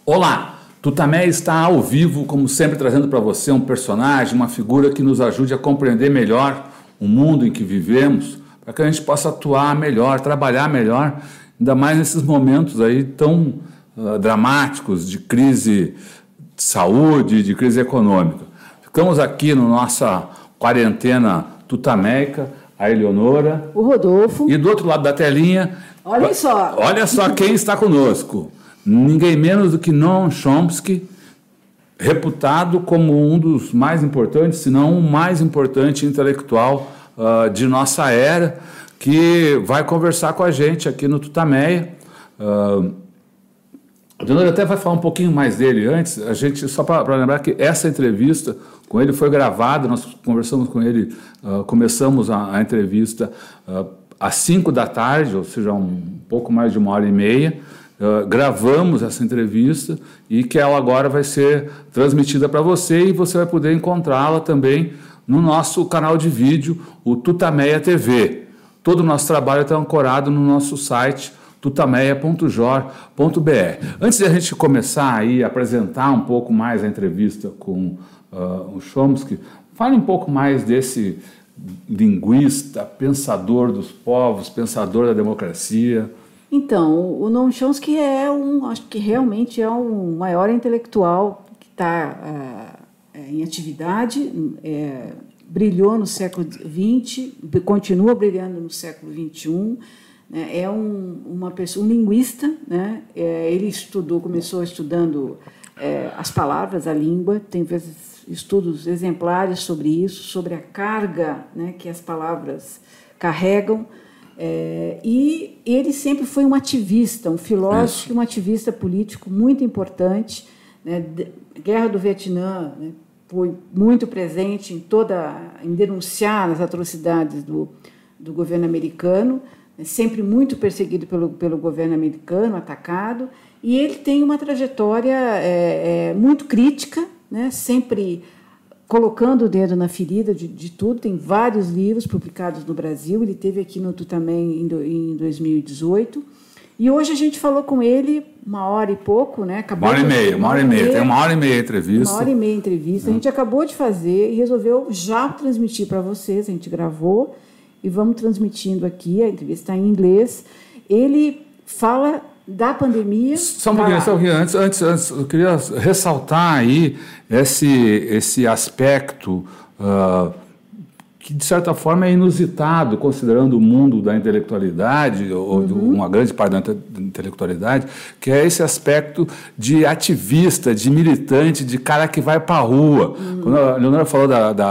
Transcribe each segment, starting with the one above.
Olá, Tutameia está ao vivo, como sempre, trazendo para você um personagem, uma figura que nos ajude a compreender melhor o mundo em que vivemos, para que a gente possa atuar melhor, trabalhar melhor, ainda mais nesses momentos aí tão dramáticos de crise de saúde, de crise econômica. Ficamos aqui na nossa quarentena tutameica, a Eleonora, o Rodolfo, e do outro lado da telinha, olha só quem está conosco. Ninguém menos do que Noam Chomsky, reputado como um dos mais importantes, se não o mais importante intelectual de nossa era, que vai conversar com a gente aqui no Tutameia. A Leonora até vai falar um pouquinho mais dele antes, a gente, só para lembrar que essa entrevista com ele foi gravada, nós conversamos com ele, começamos a entrevista às 5 da tarde, ou seja, um pouco mais de 1h30, gravamos essa entrevista e que ela agora vai ser transmitida para você e você vai poder encontrá-la também no nosso canal de vídeo, o Tutameia TV. Todo o nosso trabalho está ancorado no nosso site tutameia.jor.br. Antes de a gente começar aí a apresentar um pouco mais a entrevista com o Chomsky, fale um pouco mais desse linguista, pensador dos povos, pensador da democracia. Então, o Noam Chomsky acho que realmente é um maior intelectual que está em atividade, brilhou no século XX, continua brilhando no século XXI, né? É uma pessoa, um linguista, né? Ele começou estudando as palavras, a língua, tem estudos exemplares sobre isso, sobre a carga, né, que as palavras carregam. E ele sempre foi um ativista, um filósofo e um ativista político muito importante, né? Guerra do Vietnã, né? Foi muito presente em denunciar as atrocidades do governo americano, né? Sempre muito perseguido pelo governo americano, atacado, e ele tem uma trajetória muito crítica, né? Sempre colocando o dedo na ferida de tudo. Tem vários livros publicados no Brasil. Ele esteve aqui no Tutameia em 2018. E hoje a gente falou com ele 1h e pouco, né? Uma hora e meia. Tem 1h30 a entrevista. 1h30 a entrevista. A gente acabou de fazer e resolveu já transmitir para vocês. A gente gravou e vamos transmitindo aqui. A entrevista está em inglês. Ele fala da pandemia. Só um pouquinho, antes, eu queria ressaltar aí esse aspecto que, de certa forma, é inusitado, considerando o mundo da intelectualidade, ou de uma grande parte da intelectualidade, que é esse aspecto de ativista, de militante, de cara que vai para a rua. Quando a Leonora falou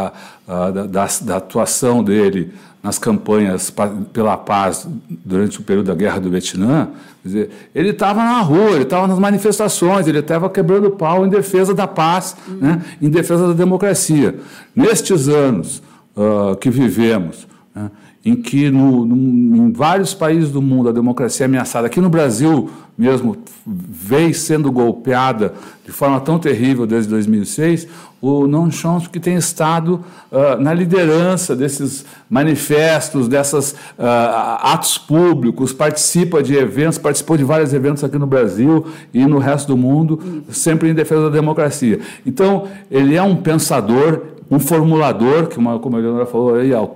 da atuação dele nas campanhas pela paz durante o período da Guerra do Vietnã, quer dizer, ele estava na rua, ele estava nas manifestações, ele estava quebrando pau em defesa da paz, né, em defesa da democracia. Nestes anos que vivemos, né, em que em vários países do mundo a democracia é ameaçada, aqui no Brasil mesmo vem sendo golpeada de forma tão terrível desde 2006, o Noam Chomsky tem estado na liderança desses manifestos, desses atos públicos, participou de vários eventos aqui no Brasil e no resto do mundo, sempre em defesa da democracia. Então, ele é um pensador, um formulador, como a Leonora falou,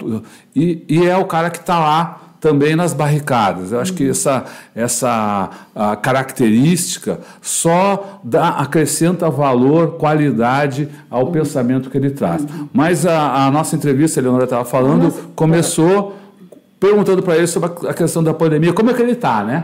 e é o cara que está lá também nas barricadas. Eu acho que essa característica só acrescenta valor, qualidade ao pensamento que ele traz. Mas a nossa entrevista, a Leonora estava falando, começou perguntando para ele sobre a questão da pandemia. Como é que ele está, né?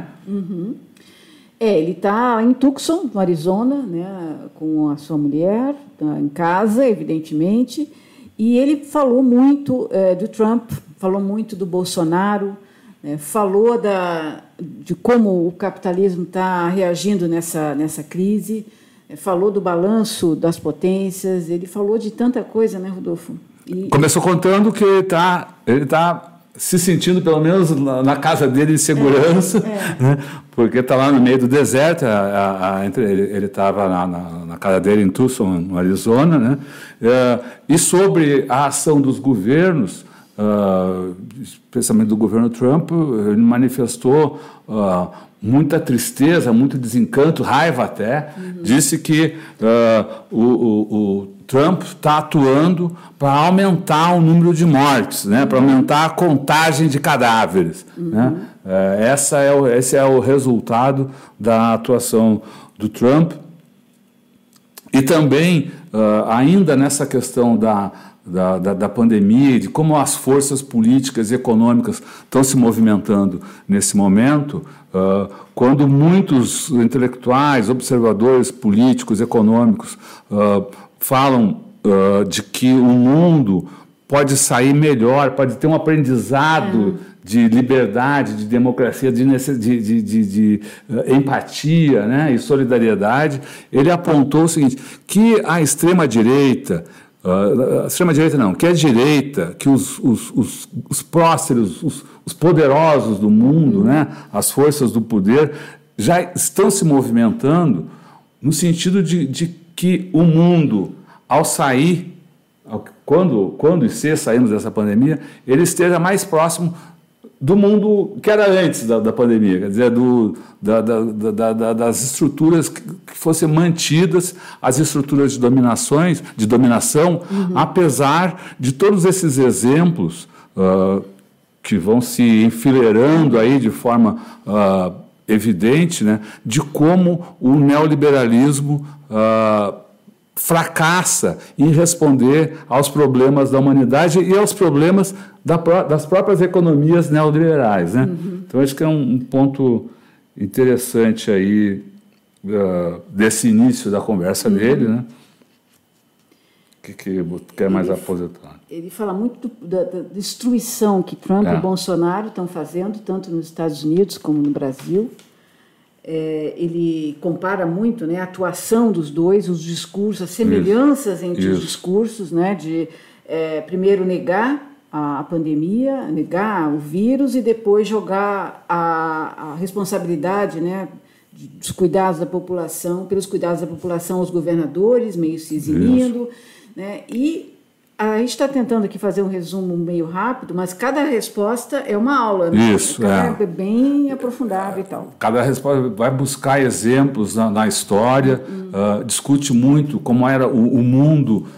Ele está em Tucson, no Arizona, né, com a sua mulher, tá em casa, evidentemente, e ele falou muito do Trump, falou muito do Bolsonaro, falou de como o capitalismo está reagindo nessa crise, falou do balanço das potências, ele falou de tanta coisa, né, Rodolfo? Começou contando que ele tá se sentindo, pelo menos na casa dele, em segurança, né? Porque está lá no meio do deserto, ele estava na casa dele em Tucson, no Arizona, né? E sobre a ação dos governos, especialmente do governo Trump, ele manifestou muita tristeza, muito desencanto, raiva até. Disse que o Trump está atuando para aumentar o número de mortes, né, para aumentar a contagem de cadáveres. Né? Esse é o resultado da atuação do Trump. E também, ainda nessa questão da pandemia, de como as forças políticas e econômicas estão se movimentando nesse momento, quando muitos intelectuais, observadores políticos, econômicos falam de que o mundo pode sair melhor, pode ter um aprendizado de liberdade, de democracia, de empatia, né, e solidariedade, ele apontou o seguinte, que a extrema-direita, que a direita, que os prósperos, os poderosos do mundo, né, as forças do poder, já estão se movimentando no sentido de que o mundo, ao sair, quando e se sairmos dessa pandemia, ele esteja mais próximo do mundo que era antes da pandemia, quer dizer, das estruturas que fossem mantidas, as estruturas de dominação, apesar de todos esses exemplos que vão se enfileirando aí de forma evidente, né, de como o neoliberalismo fracassa em responder aos problemas da humanidade e aos problemas das próprias economias neoliberais, né? Então, acho que é um ponto interessante aí desse início da conversa dele, né? Que quer mais aposentar. Ele fala muito da destruição que Trump e Bolsonaro estão fazendo, tanto nos Estados Unidos como no Brasil. Ele compara muito, né, a atuação dos dois, os discursos, as semelhanças entre os discursos, né, de primeiro negar a pandemia, negar o vírus e depois jogar a responsabilidade, né, dos cuidados da população, pelos cuidados da população aos governadores, meio se eximindo, né, e a gente está tentando aqui fazer um resumo meio rápido, mas cada resposta é uma aula, né? Isso, é bem aprofundada e tal. Cada resposta vai buscar exemplos na história, discute muito como era o mundo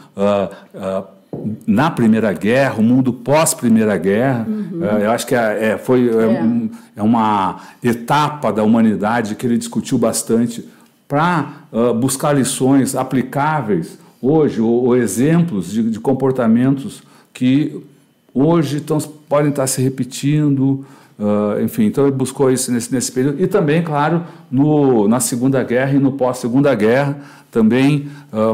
na Primeira Guerra, o mundo pós-Primeira Guerra. Eu acho que é uma etapa da humanidade que ele discutiu bastante para buscar lições aplicáveis hoje, ou exemplos de comportamentos que hoje podem estar se repetindo, enfim, então ele buscou isso nesse período, e também, claro, na Segunda Guerra e no pós-Segunda Guerra, também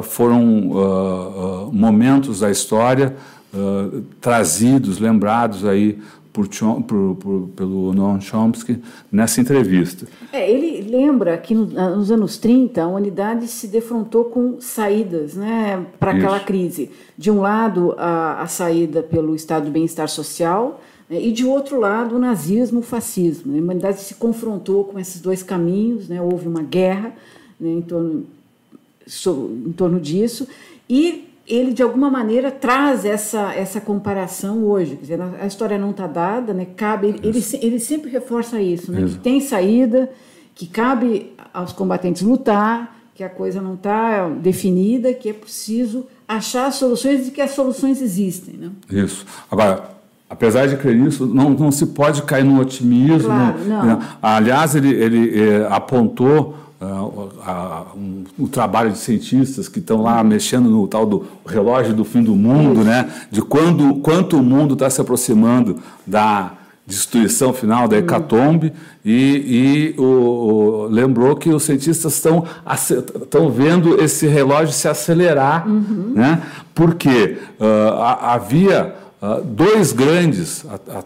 foram momentos da história trazidos, lembrados aí pelo Noam Chomsky nessa entrevista. Ele lembra que nos anos 30 a humanidade se defrontou com saídas, né, para aquela crise. De um lado, a saída pelo estado de bem-estar social, né, e de outro lado, o nazismo, o fascismo. A humanidade se confrontou com esses dois caminhos, né, houve uma guerra, né, em torno disso, e ele, de alguma maneira, traz essa comparação hoje. Quer dizer, a história não está dada, né? Ele sempre reforça isso, né? Que tem saída, que cabe aos combatentes lutar, que a coisa não está definida, que é preciso achar soluções e que as soluções existem. Né? Isso. Agora, apesar de crer nisso, não se pode cair no otimismo. Claro, não. Aliás, ele apontou o trabalho de cientistas que estão lá mexendo no tal do relógio do fim do mundo, né? De quanto o mundo está se aproximando da destruição final, da hecatombe, e lembrou que os cientistas estão vendo esse relógio se acelerar, né? Porque havia dois grandes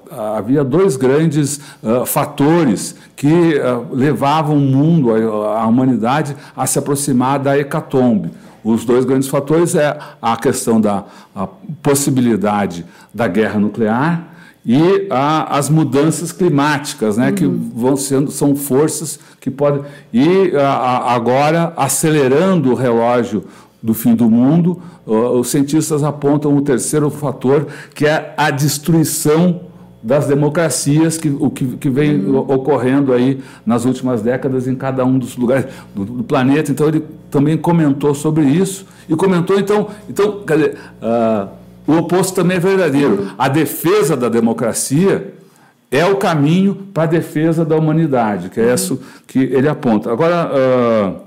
fatores que levavam o mundo, a humanidade, a se aproximar da hecatombe. Os dois grandes fatores é a questão da possibilidade da guerra nuclear e as mudanças climáticas, né, que são forças que podem... E agora, acelerando o relógio do fim do mundo, os cientistas apontam o terceiro fator, que é a destruição das democracias, que vem ocorrendo aí nas últimas décadas em cada um dos lugares do planeta. Então ele também comentou sobre isso e comentou então quer dizer, o oposto também é verdadeiro. A defesa da democracia é o caminho para a defesa da humanidade, que é isso que ele aponta. Agora,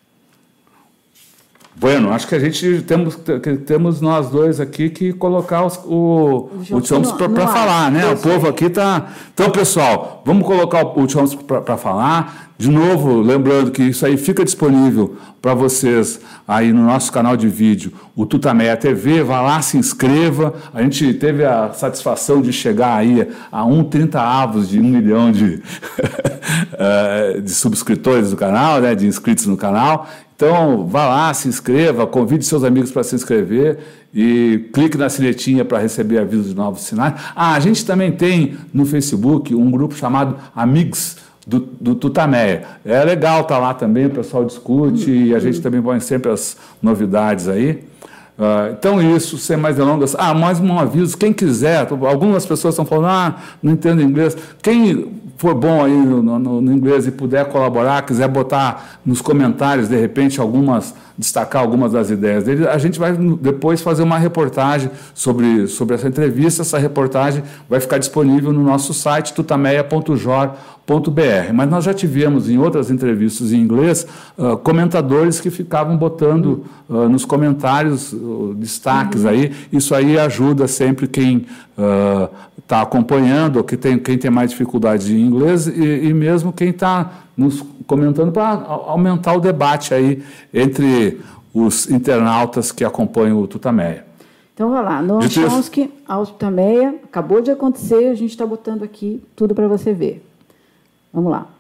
bueno, acho que a gente temos nós dois aqui que colocar o Chomsky para falar, né? O povo aqui está... Então, pessoal, vamos colocar o Chomsky para falar. De novo, lembrando que isso aí fica disponível para vocês aí no nosso canal de vídeo, o Tutameia TV. Vá lá, se inscreva. A gente teve a satisfação de chegar aí a 1/30 de 1 milhão de subscritores do canal, né? De inscritos no canal. Então, vá lá, se inscreva, convide seus amigos para se inscrever e clique na sinetinha para receber avisos de novos sinais. A gente também tem no Facebook um grupo chamado Amigos do Tutameia. É legal estar lá também, o pessoal discute e a gente também põe sempre as novidades aí. Então, isso, sem mais delongas. Mais um aviso, quem quiser, algumas pessoas estão falando, não entendo inglês. Quem for bom aí no inglês e puder colaborar, quiser botar nos comentários, de repente, destacar algumas das ideias dele, a gente vai depois fazer uma reportagem sobre essa entrevista. Essa reportagem vai ficar disponível no nosso site, tutameia.jor.br. Mas nós já tivemos em outras entrevistas em inglês comentadores que ficavam botando nos comentários destaques aí. Isso aí ajuda sempre quem está acompanhando, ou quem tem mais dificuldade em inglês, e mesmo quem está nos comentando, para aumentar o debate aí entre os internautas que acompanham o Tutameia. Então, vai lá. Noam Chomsky, ao Tutameia, acabou de acontecer, a gente está botando aqui tudo para você ver. Vamos lá.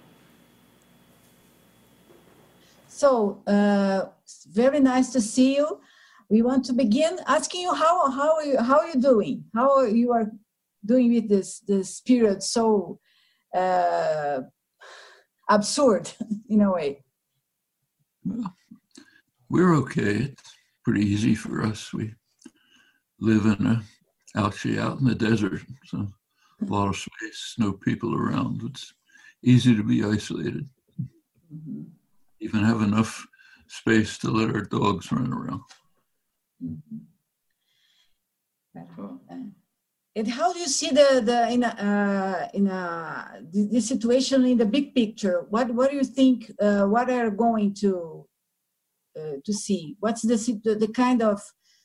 So, very nice to see you. We want to begin asking you how you doing? How you are doing with this period so absurd in a way? Well, we're okay. It's pretty easy for us. We live out in the desert, so a lot of space, no people around. It's easy to be isolated. Mm-hmm. Even have enough space to let our dogs run around. Mm-hmm. And how do you see the situation in the big picture? What do you think? What are going to see? What's the kind of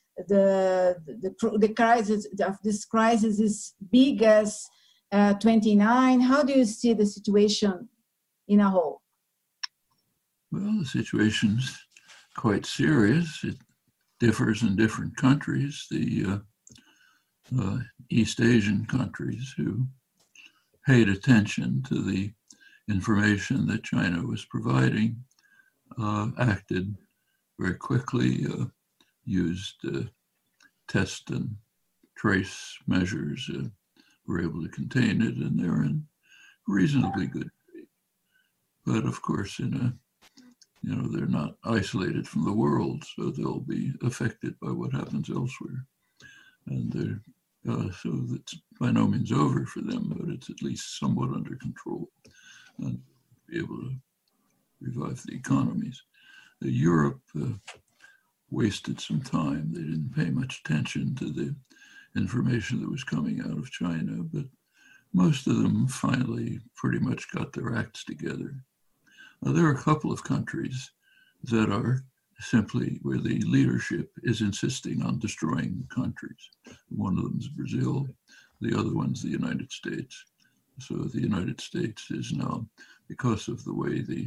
the crisis of this crisis is big as 29? How do you see the situation in a whole? Well, the situation's quite serious. It differs in different countries. The East Asian countries who paid attention to the information that China was providing acted very quickly, used test and trace measures, were able to contain it, and they're in reasonably good shape. But of course, they're not isolated from the world, so they'll be affected by what happens elsewhere. And so that's by no means over for them, but it's at least somewhat under control and be able to revive the economies. Europe wasted some time. They didn't pay much attention to the information that was coming out of China, but most of them finally pretty much got their acts together. There are a couple of countries that are simply where the leadership is insisting on destroying countries. One of them is Brazil, the other one's the United States. So the United States is now, because of the way the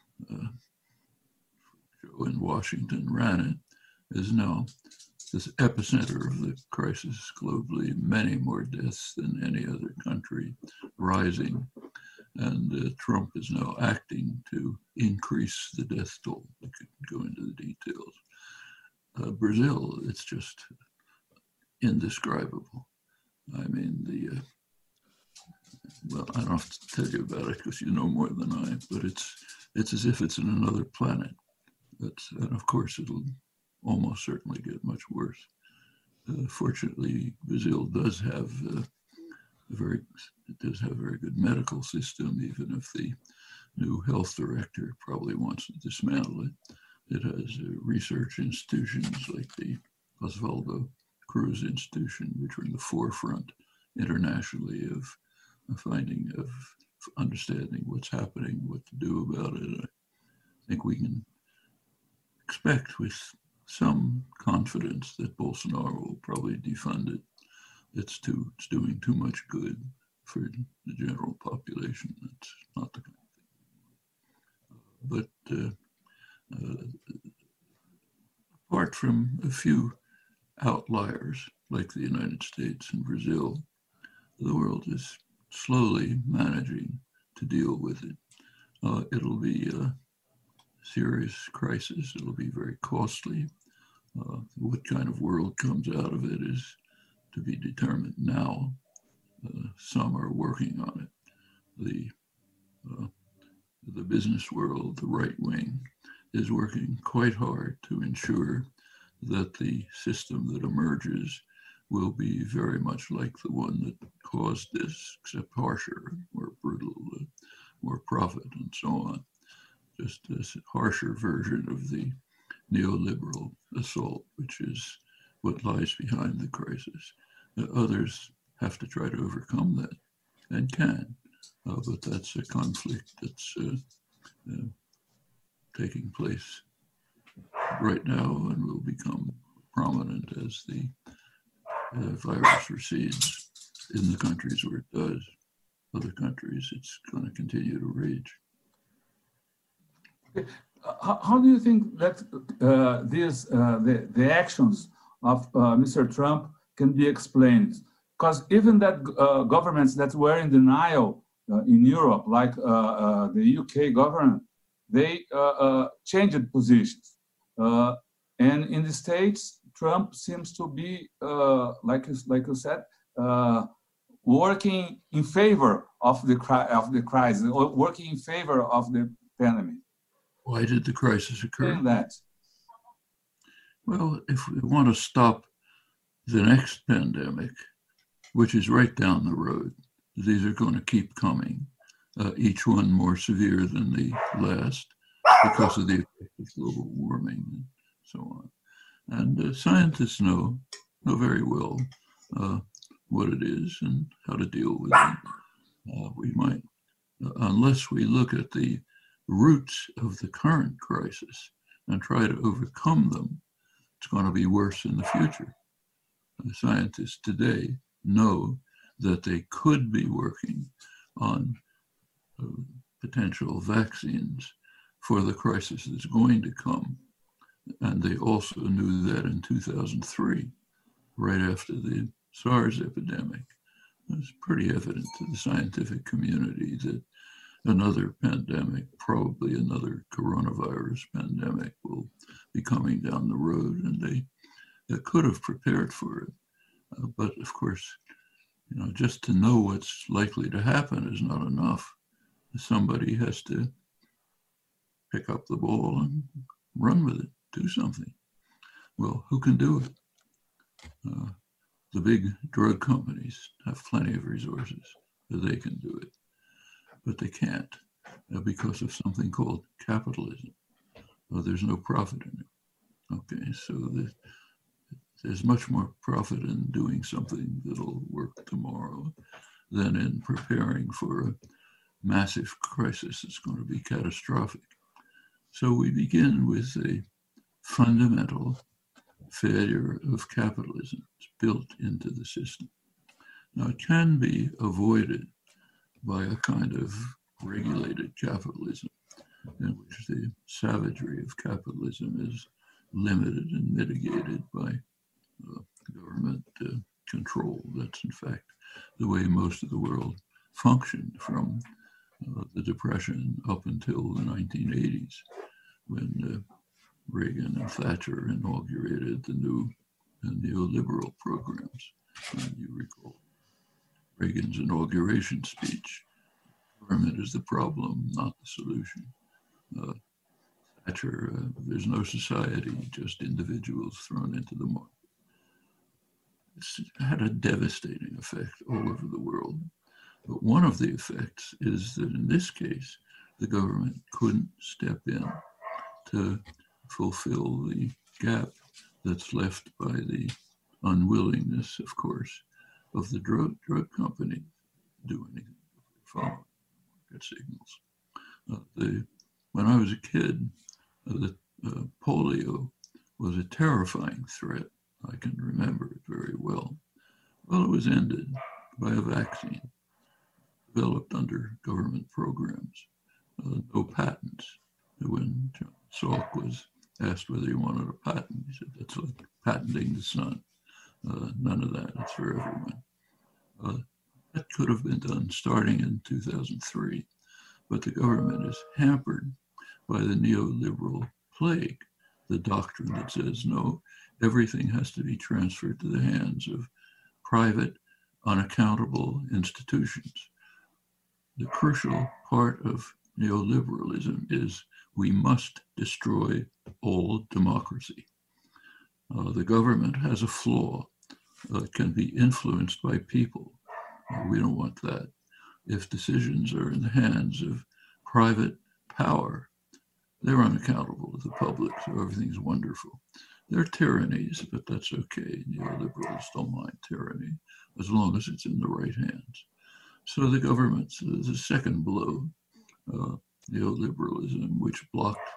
show in Washington ran it, is now this epicenter of the crisis globally, many more deaths than any other country, rising. And Trump is now acting to increase the death toll. We could go into the details. Brazil, it's just indescribable. I mean, well, I don't have to tell you about it because you know more than I, but it's as if it's in another planet. And of course, it'll almost certainly get much worse. Fortunately, Brazil does have a very good medical system, even if the new health director probably wants to dismantle it. It has research institutions like the Oswaldo Cruz Institution, which are in the forefront internationally of understanding what's happening, what to do about it. I think we can expect with some confidence that Bolsonaro will probably defund it. It's doing too much good for the general population. That's not the kind of thing. But apart from a few outliers like the United States and Brazil, the world is slowly managing to deal with it. It'll be a serious crisis. It'll be very costly. What kind of world comes out of it is to be determined now. Some are working on it. The business world, the right wing, is working quite hard to ensure that the system that emerges will be very much like the one that caused this, except harsher, more brutal, more profit, and so on. Just a harsher version of the neoliberal assault, which is what lies behind the crisis. Others have to try to overcome that, and can, but that's a conflict that's taking place right now and will become prominent as the virus recedes in the countries where it does. Other countries, it's going to continue to rage. How do you think that the actions of Mr. Trump can be explained? Because even that governments that were in denial in Europe, like the UK government, they changed positions. And in the States, Trump seems to be, like you said, working in favor of the crisis, or working in favor of the pandemic. Why did the crisis occur? That. Well, if we want to stop the next pandemic, which is right down the road, these are going to keep coming, each one more severe than the last because of the effect of global warming and so on. And scientists know very well what it is and how to deal with it. We might, unless we look at the roots of the current crisis and try to overcome them, it's going to be worse in the future. The scientists today know that they could be working on potential vaccines for the crisis that's going to come. And they also knew that in 2003, right after the SARS epidemic. It was pretty evident to the scientific community that another pandemic, probably another coronavirus pandemic, will be coming down the road, and they could have prepared for it. But of course, just to know what's likely to happen is not enough. Somebody has to pick up the ball and run with it, do something. Well, who can do it? The big drug companies have plenty of resources, that they can do it. But they can't because of something called capitalism. There's no profit in it. Okay, so there's much more profit in doing something that'll work tomorrow than in preparing for a massive crisis that's going to be catastrophic. So we begin with a fundamental failure of capitalism. It's built into the system. Now, it can be avoided by a kind of regulated capitalism in which the savagery of capitalism is limited and mitigated by government control. That's, in fact, the way most of the world functioned from the Depression up until the 1980s, when Reagan and Thatcher inaugurated the new neoliberal programs. And you recall Reagan's inauguration speech: government is the problem, not the solution. there's no society, just individuals thrown into the market. It's had a devastating effect all over the world. But one of the effects is that in this case, the government couldn't step in to fulfill the gap that's left by the unwillingness, of course, of the drug company to do anything, follow market signals. When I was a kid, polio was a terrifying threat. I can remember it very well. Well, it was ended by a vaccine developed under government programs, no patents. When John Salk was asked whether he wanted a patent, he said, that's like patenting the sun. None of that, it's for everyone. That could have been done starting in 2003, but the government is hampered by the neoliberal plague, the doctrine that says, no, everything has to be transferred to the hands of private, unaccountable institutions. The crucial part of neoliberalism is we must destroy all democracy. The government has a flaw. It can be influenced by people. We don't want that. If decisions are in the hands of private power, they're unaccountable to the public, so everything's wonderful. They're tyrannies, but that's okay. Neoliberals don't mind tyranny as long as it's in the right hands. So the government's the second blow, neoliberalism, which blocked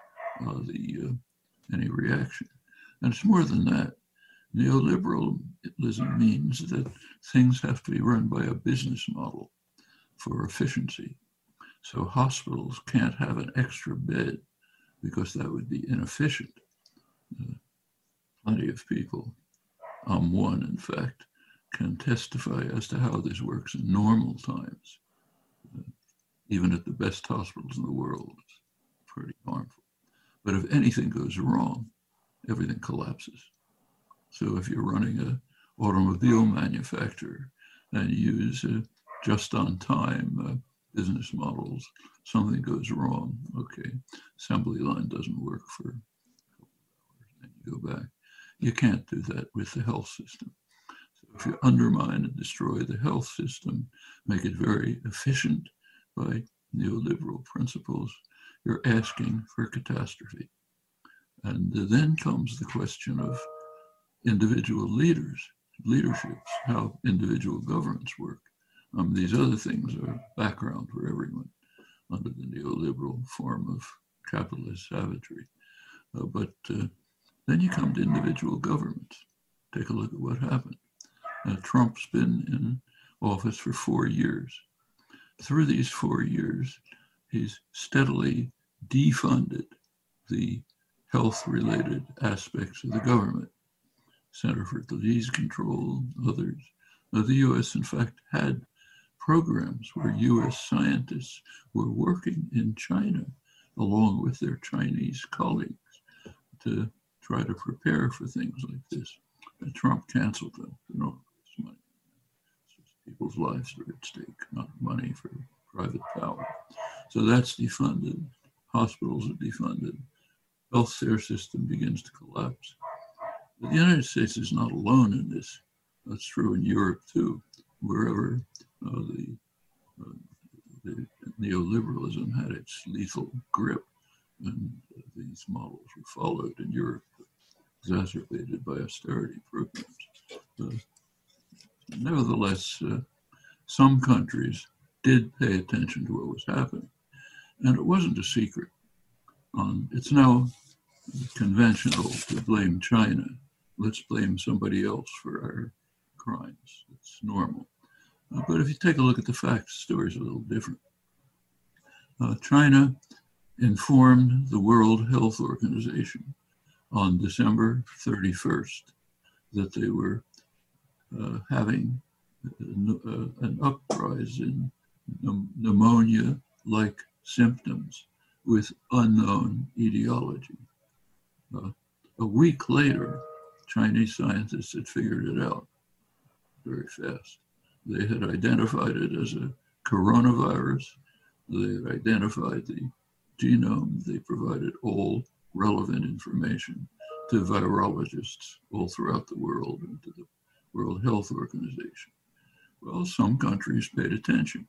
any reaction. And it's more than that. Neoliberalism means that things have to be run by a business model for efficiency. So hospitals can't have an extra bed because that would be inefficient. Plenty of people, I'm one in fact, can testify as to how this works in normal times. Even at the best hospitals in the world, it's pretty harmful. But if anything goes wrong, everything collapses. So if you're running an automobile manufacturer and you use just-on-time business models, something goes wrong, okay, assembly line doesn't work for a couple of hours, and you go back. You can't do that with the health system. So if you undermine and destroy the health system, make it very efficient by neoliberal principles, you're asking for catastrophe. And then comes the question of individual leaderships, how individual governments work. These other things are background for everyone under the neoliberal form of capitalist savagery. But then you come to individual governments. Take a look at what happened. Trump's been in office for 4 years. Through these 4 years, he's steadily defunded the health-related aspects of the government. Center for Disease Control, others. The U.S., in fact, had programs where U.S. scientists were working in China along with their Chinese colleagues to try to prepare for things like this. And Trump canceled them. Money. It's just people's lives are at stake, not money for private power. So that's defunded. Hospitals are defunded. Healthcare system begins to collapse. But the United States is not alone in this. That's true in Europe too, wherever the neoliberalism had its lethal grip, and these models were followed in Europe, exacerbated by austerity programs. Nevertheless, some countries did pay attention to what was happening, and it wasn't a secret. It's now conventional to blame China. Let's blame somebody else for our crimes. It's normal. But if you take a look at the facts, the story's a little different. China informed the World Health Organization on December 31st that they were having an uprise in pneumonia-like symptoms with unknown etiology. A week later, Chinese scientists had figured it out very fast. They had identified it as a coronavirus. They had identified the genome. They provided all relevant information to virologists all throughout the world and to the World Health Organization. Well, some countries paid attention.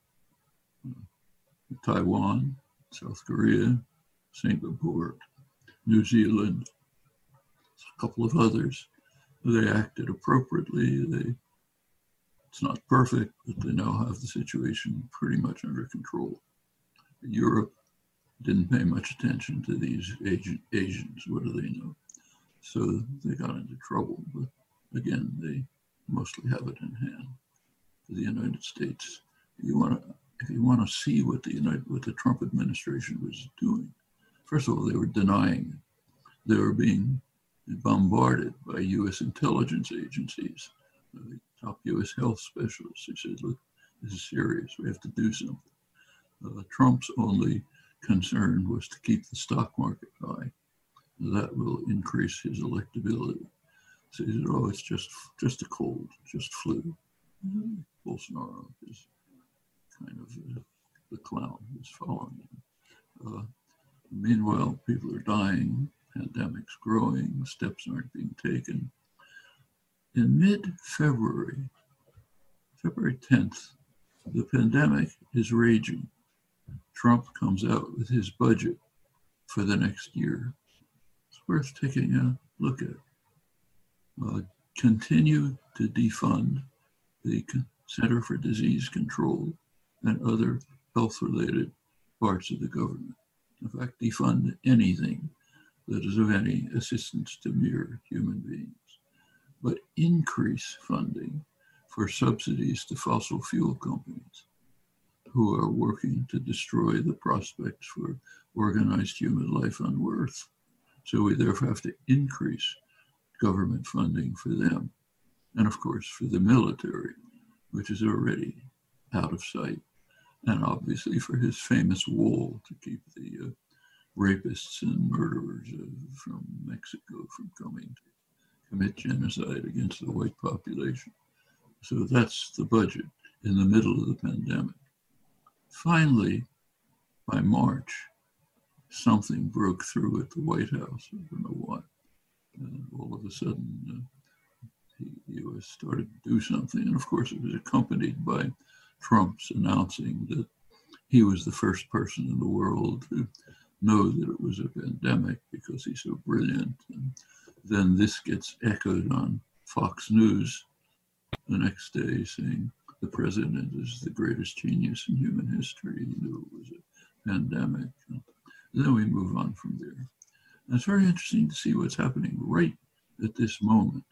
Taiwan, South Korea, Singapore, New Zealand, a couple of others. They acted appropriately. It's not perfect, but they now have the situation pretty much under control. Europe didn't pay much attention to these Asians. What do they know? So they got into trouble. But again, they mostly have it in hand. For the United States, if you want to see what the Trump administration was doing, first of all, they were denying it. They were being bombarded by U.S. intelligence agencies, the top U.S. health specialists who said, look, this is serious, we have to do something. Trump's only concern was to keep the stock market high. That will increase his electability. So he said, oh, it's just a cold, just flu. Bolsonaro is kind of the clown who's following him. Meanwhile, people are dying, pandemic's growing, steps aren't being taken. In mid-February, February 10th, the pandemic is raging. Trump comes out with his budget for the next year. It's worth taking a look at. Continue to defund the Center for Disease Control and other health-related parts of the government. In fact, defund anything that is of any assistance to mere human beings, but increase funding for subsidies to fossil fuel companies who are working to destroy the prospects for organized human life on Earth. So we therefore have to increase government funding for them. And of course, for the military, which is already out of sight. And obviously for his famous wall to keep the rapists and murderers from Mexico from coming to commit genocide against the white population. So that's the budget in the middle of the pandemic. Finally, by March, something broke through at the White House. I don't know what. All of a sudden, the U.S. started to do something. And of course, it was accompanied by Trump's announcing that he was the first person in the world to know that it was a pandemic because he's so brilliant. And then this gets echoed on Fox News the next day saying the president is the greatest genius in human history. He knew it was a pandemic. And then we move on from there. And it's very interesting to see what's happening right at this moment.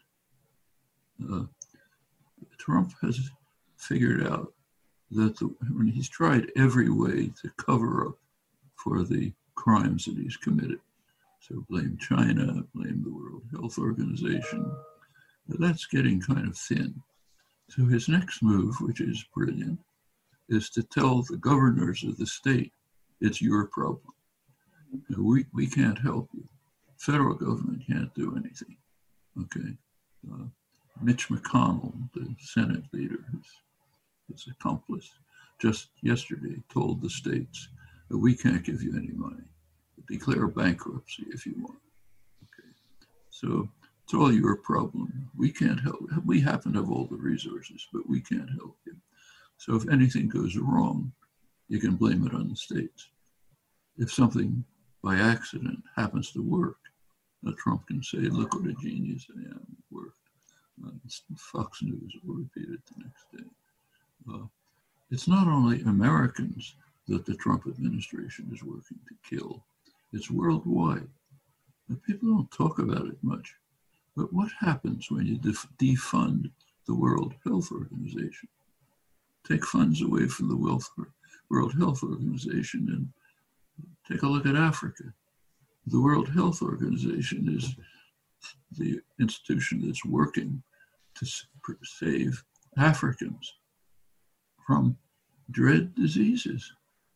Trump has figured out that when he's tried every way to cover up for the crimes that he's committed. So blame China, blame the World Health Organization. That's getting kind of thin. So his next move, which is brilliant, is to tell the governors of the state, it's your problem. We can't help you. Federal government can't do anything. Okay. Mitch McConnell, the Senate leader, his accomplice, just yesterday told the states that we can't give you any money. Declare bankruptcy if you want. Okay. So it's all your problem. We can't help. We happen to have all the resources, but we can't help you. So if anything goes wrong, you can blame it on the states. If something by accident happens to work, Trump can say, look what a genius I am, it worked. Fox News will repeat it the next day. It's not only Americans that the Trump administration is working to kill, it's worldwide. And people don't talk about it much, but what happens when you defund the World Health Organization? Take funds away from the World Health Organization and take a look at Africa. The World Health Organization is the institution that's working to save Africans from dread diseases,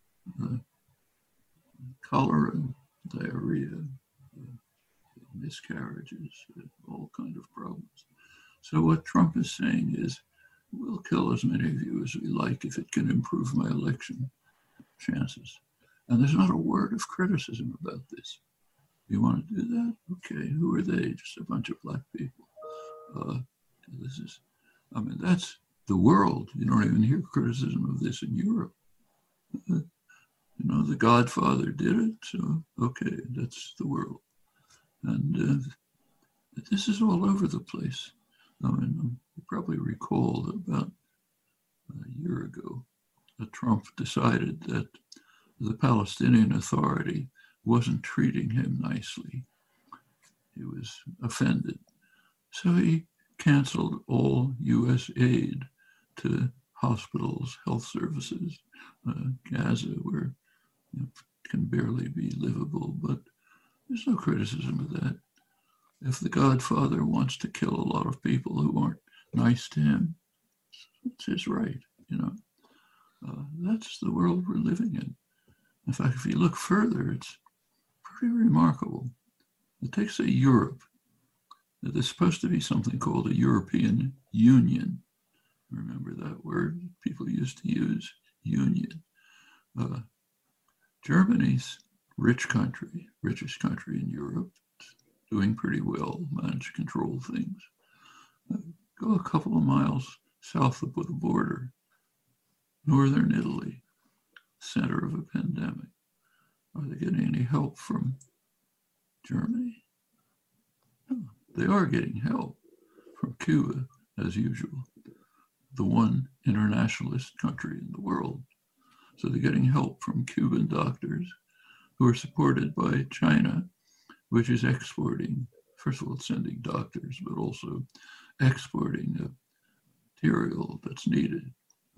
cholera, diarrhea, miscarriages, all kinds of problems. So what Trump is saying is, we'll kill as many of you as we like if it can improve my election chances. And there's not a word of criticism about this. You want to do that? Okay, who are they? Just a bunch of black people. That's the world. You don't even hear criticism of this in Europe. The Godfather did it, so okay, that's the world. And this is all over the place. You probably recall that about a year ago, Trump decided that the Palestinian Authority wasn't treating him nicely. He was offended. So he canceled all U.S. aid to hospitals, health services, Gaza, where it can barely be livable, but there's no criticism of that. If the Godfather wants to kill a lot of people who aren't nice to him, it's his right, That's the world we're living in. In fact, if you look further, it's pretty remarkable. Take, say, Europe. There's supposed to be something called a European Union. Remember that word people used to use, union. Germany's richest country in Europe, doing pretty well, managed to control things. Go a couple of miles south of the border, northern Italy, center of a pandemic. Are they getting any help from Germany? No, they are getting help from Cuba, as usual, the one internationalist country in the world. So they're getting help from Cuban doctors who are supported by China, which is exporting, first of all, sending doctors, but also exporting material that's needed,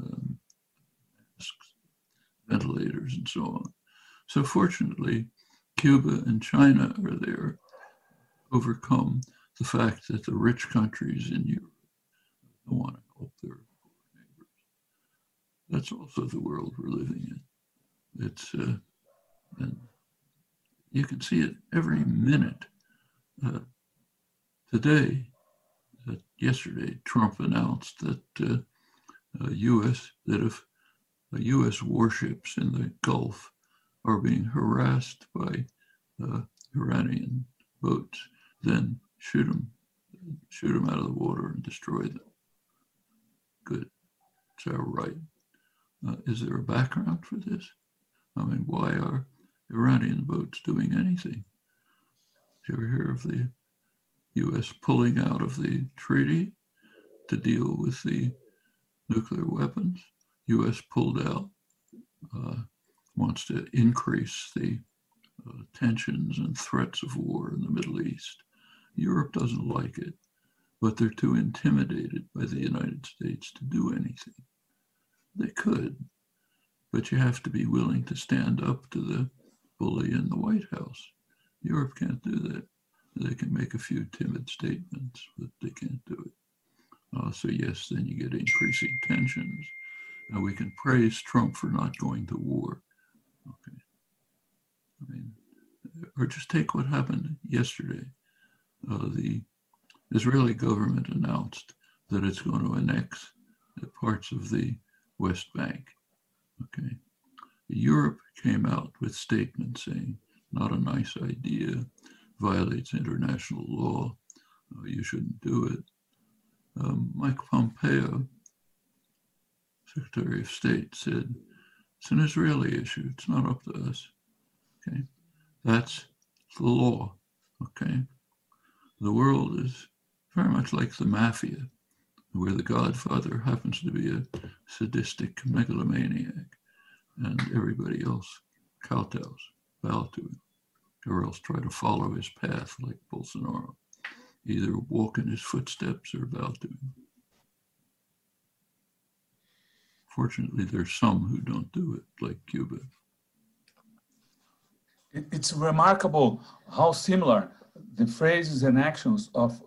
ventilators and so on. So fortunately, Cuba and China are there to overcome the fact that the rich countries in Europe don't want to help their poor neighbors. That's also the world we're living in. It's, and you can see it every minute. Yesterday, Trump announced that if U.S. warships in the Gulf are being harassed by Iranian boats, then shoot them out of the water and destroy them. Good. It's our right. Is there a background for this? Why are Iranian boats doing anything? Did you ever hear of the U.S. pulling out of the treaty to deal with the nuclear weapons? U.S. pulled out, wants to increase the tensions and threats of war in the Middle East. Europe doesn't like it, but they're too intimidated by the United States to do anything. They could, but you have to be willing to stand up to the bully in the White House. Europe can't do that. They can make a few timid statements, but they can't do it. So yes, then you get increasing tensions. Now we can praise Trump for not going to war. Okay. Or just take what happened yesterday. The Israeli government announced that it's going to annex parts of the West Bank. Okay. Europe came out with statements saying, not a nice idea, violates international law, you shouldn't do it. Mike Pompeo, Secretary of State, said, it's an Israeli issue, it's not up to us. Okay, that's the law. Okay, the world is very much like the mafia, where the Godfather happens to be a sadistic megalomaniac, and everybody else kowtows, bow to him, or else try to follow his path like Bolsonaro, either walk in his footsteps or bow to him. Fortunately, there's some who don't do it, like Cuba. It's remarkable how similar the phrases and actions of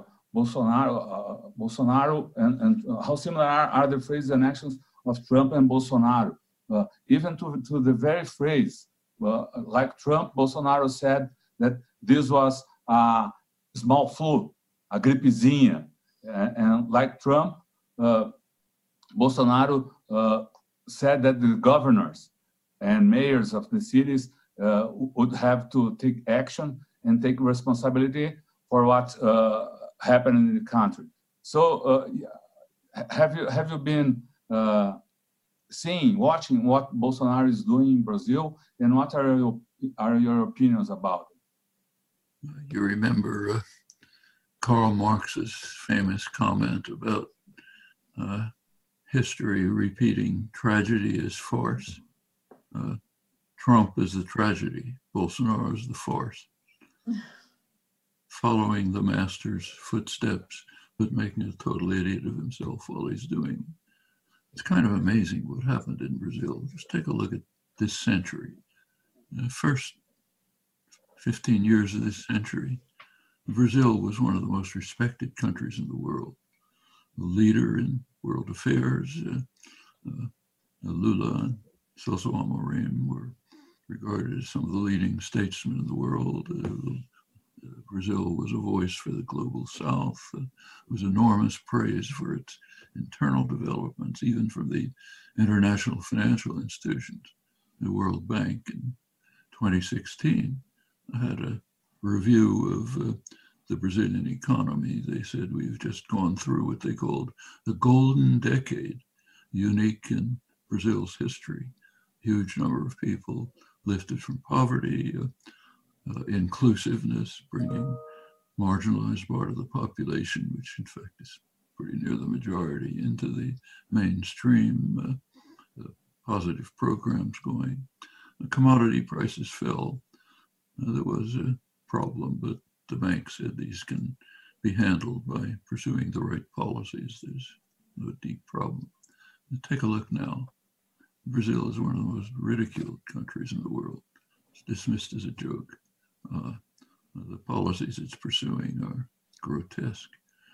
Bolsonaro and how similar are the phrases and actions of Trump and Bolsonaro. Even to the very phrase, like Trump, Bolsonaro said that this was a small flu, a gripezinha. And like Trump, Bolsonaro said that the governors and mayors of the cities would have to take action and take responsibility for what happened in the country. So have you been watching what Bolsonaro is doing in Brazil, and what are your opinions about it? You remember Karl Marx's famous comment about history repeating tragedy as farce. Trump is the tragedy, Bolsonaro is the farce. Following the master's footsteps, but making a total idiot of himself while he's doing it. It's kind of amazing what happened in Brazil. Just take a look at this century. The first 15 years of this century, Brazil was one of the most respected countries in the world. The leader in world affairs, Lula and Celso Amorim were regarded as some of the leading statesmen in the world. Brazil was a voice for the global South. Was enormous praise for its internal developments, even from the international financial institutions. The World Bank in 2016 had a review of the Brazilian economy. They said we've just gone through what they called the golden decade, unique in Brazil's history. Huge number of people lifted from poverty, inclusiveness, bringing marginalized part of the population, which in fact is pretty near the majority, into the mainstream, positive programs going. Commodity prices fell. There was a problem, but the bank said these can be handled by pursuing the right policies. There's no deep problem. Take a look now. Brazil is one of the most ridiculed countries in the world. It's dismissed as a joke. The policies it's pursuing are grotesque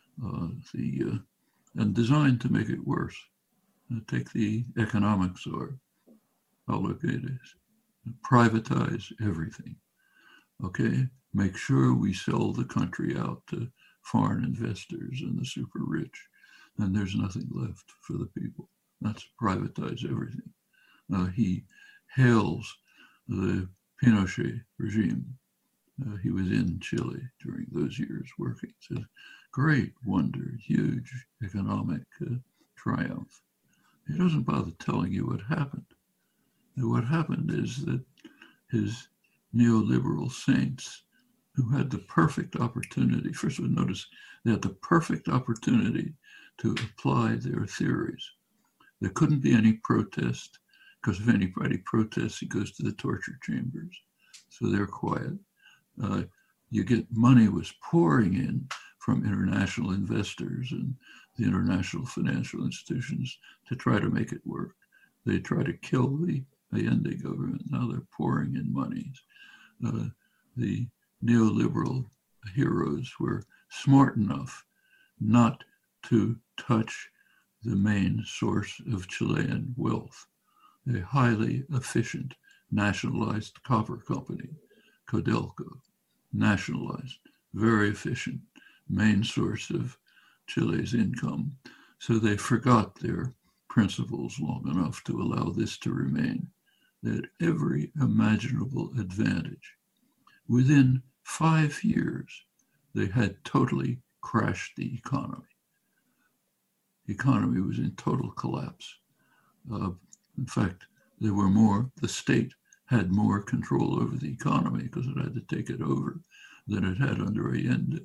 and designed to make it worse. Take the economic czar, Paulo Guedes. Privatize everything. Okay, make sure we sell the country out to foreign investors and the super rich, and there's nothing left for the people. That's privatize everything. He hails the Pinochet regime. He was in Chile during those years working. It's a great wonder, huge economic triumph. He doesn't bother telling you what happened. And what happened is that his neoliberal saints, who had the perfect opportunity, first of all, notice they had the perfect opportunity to apply their theories. There couldn't be any protest, because if anybody protests, he goes to the torture chambers. So they're quiet. You get money was pouring in from international investors and the international financial institutions to try to make it work. They try to kill the Allende government. Now they're pouring in monies. The neoliberal heroes were smart enough not to touch the main source of Chilean wealth, a highly efficient nationalized copper company, Codelco, nationalized, very efficient, main source of Chile's income. So they forgot their principles long enough to allow this to remain. They had every imaginable advantage. Within 5 years, they had totally crashed the economy. The economy was in total collapse. In fact, the state had more control over the economy because it had to take it over than it had under Allende.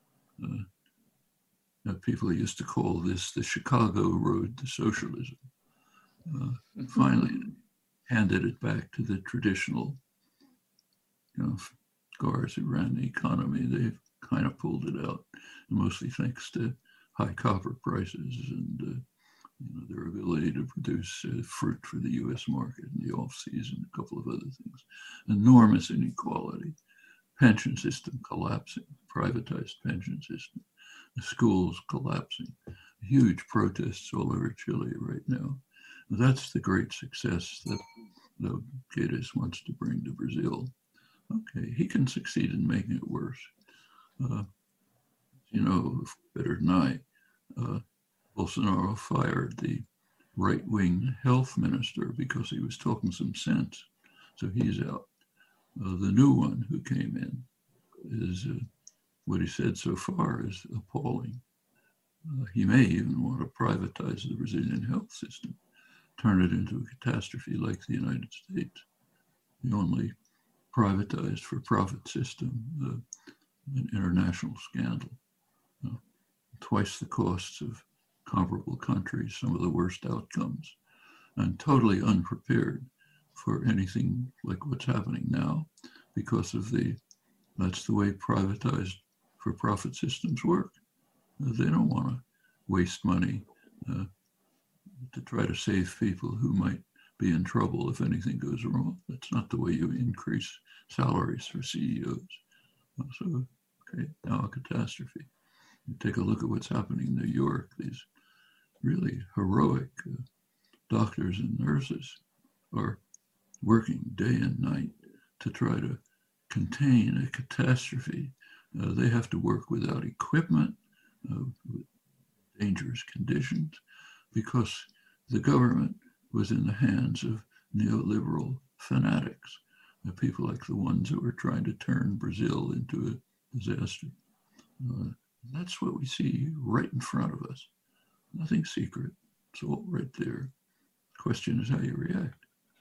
People used to call this the Chicago road to socialism. Finally, handed it back to the traditional guards who ran the economy. They've kind of pulled it out, mostly thanks to high copper prices and their ability to produce fruit for the U.S. market in the off-season, a couple of other things. Enormous inequality, pension system collapsing, privatized pension system, the schools collapsing, huge protests all over Chile right now. That's the great success that Guedes wants to bring to Brazil. Okay, he can succeed in making it worse. Better than I, Bolsonaro fired the right-wing health minister because he was talking some sense. So he's out. The new one who came in is what he said so far is appalling. He may even want to privatize the Brazilian health system, turn it into a catastrophe like the United States. The only privatized for-profit system, an international scandal. Twice the costs of comparable countries, some of the worst outcomes, and totally unprepared for anything like what's happening now because of that's the way privatized for-profit systems work. They don't want to waste money to try to save people who might be in trouble if anything goes wrong. That's not the way you increase salaries for CEOs. So, okay, now a catastrophe. You take a look at what's happening in New York. These really heroic doctors and nurses are working day and night to try to contain a catastrophe. They have to work without equipment, with dangerous conditions, because the government was in the hands of neoliberal fanatics, people like the ones who were trying to turn Brazil into a disaster. That's what we see right in front of us. Nothing secret. It's all right there. The question is how you react.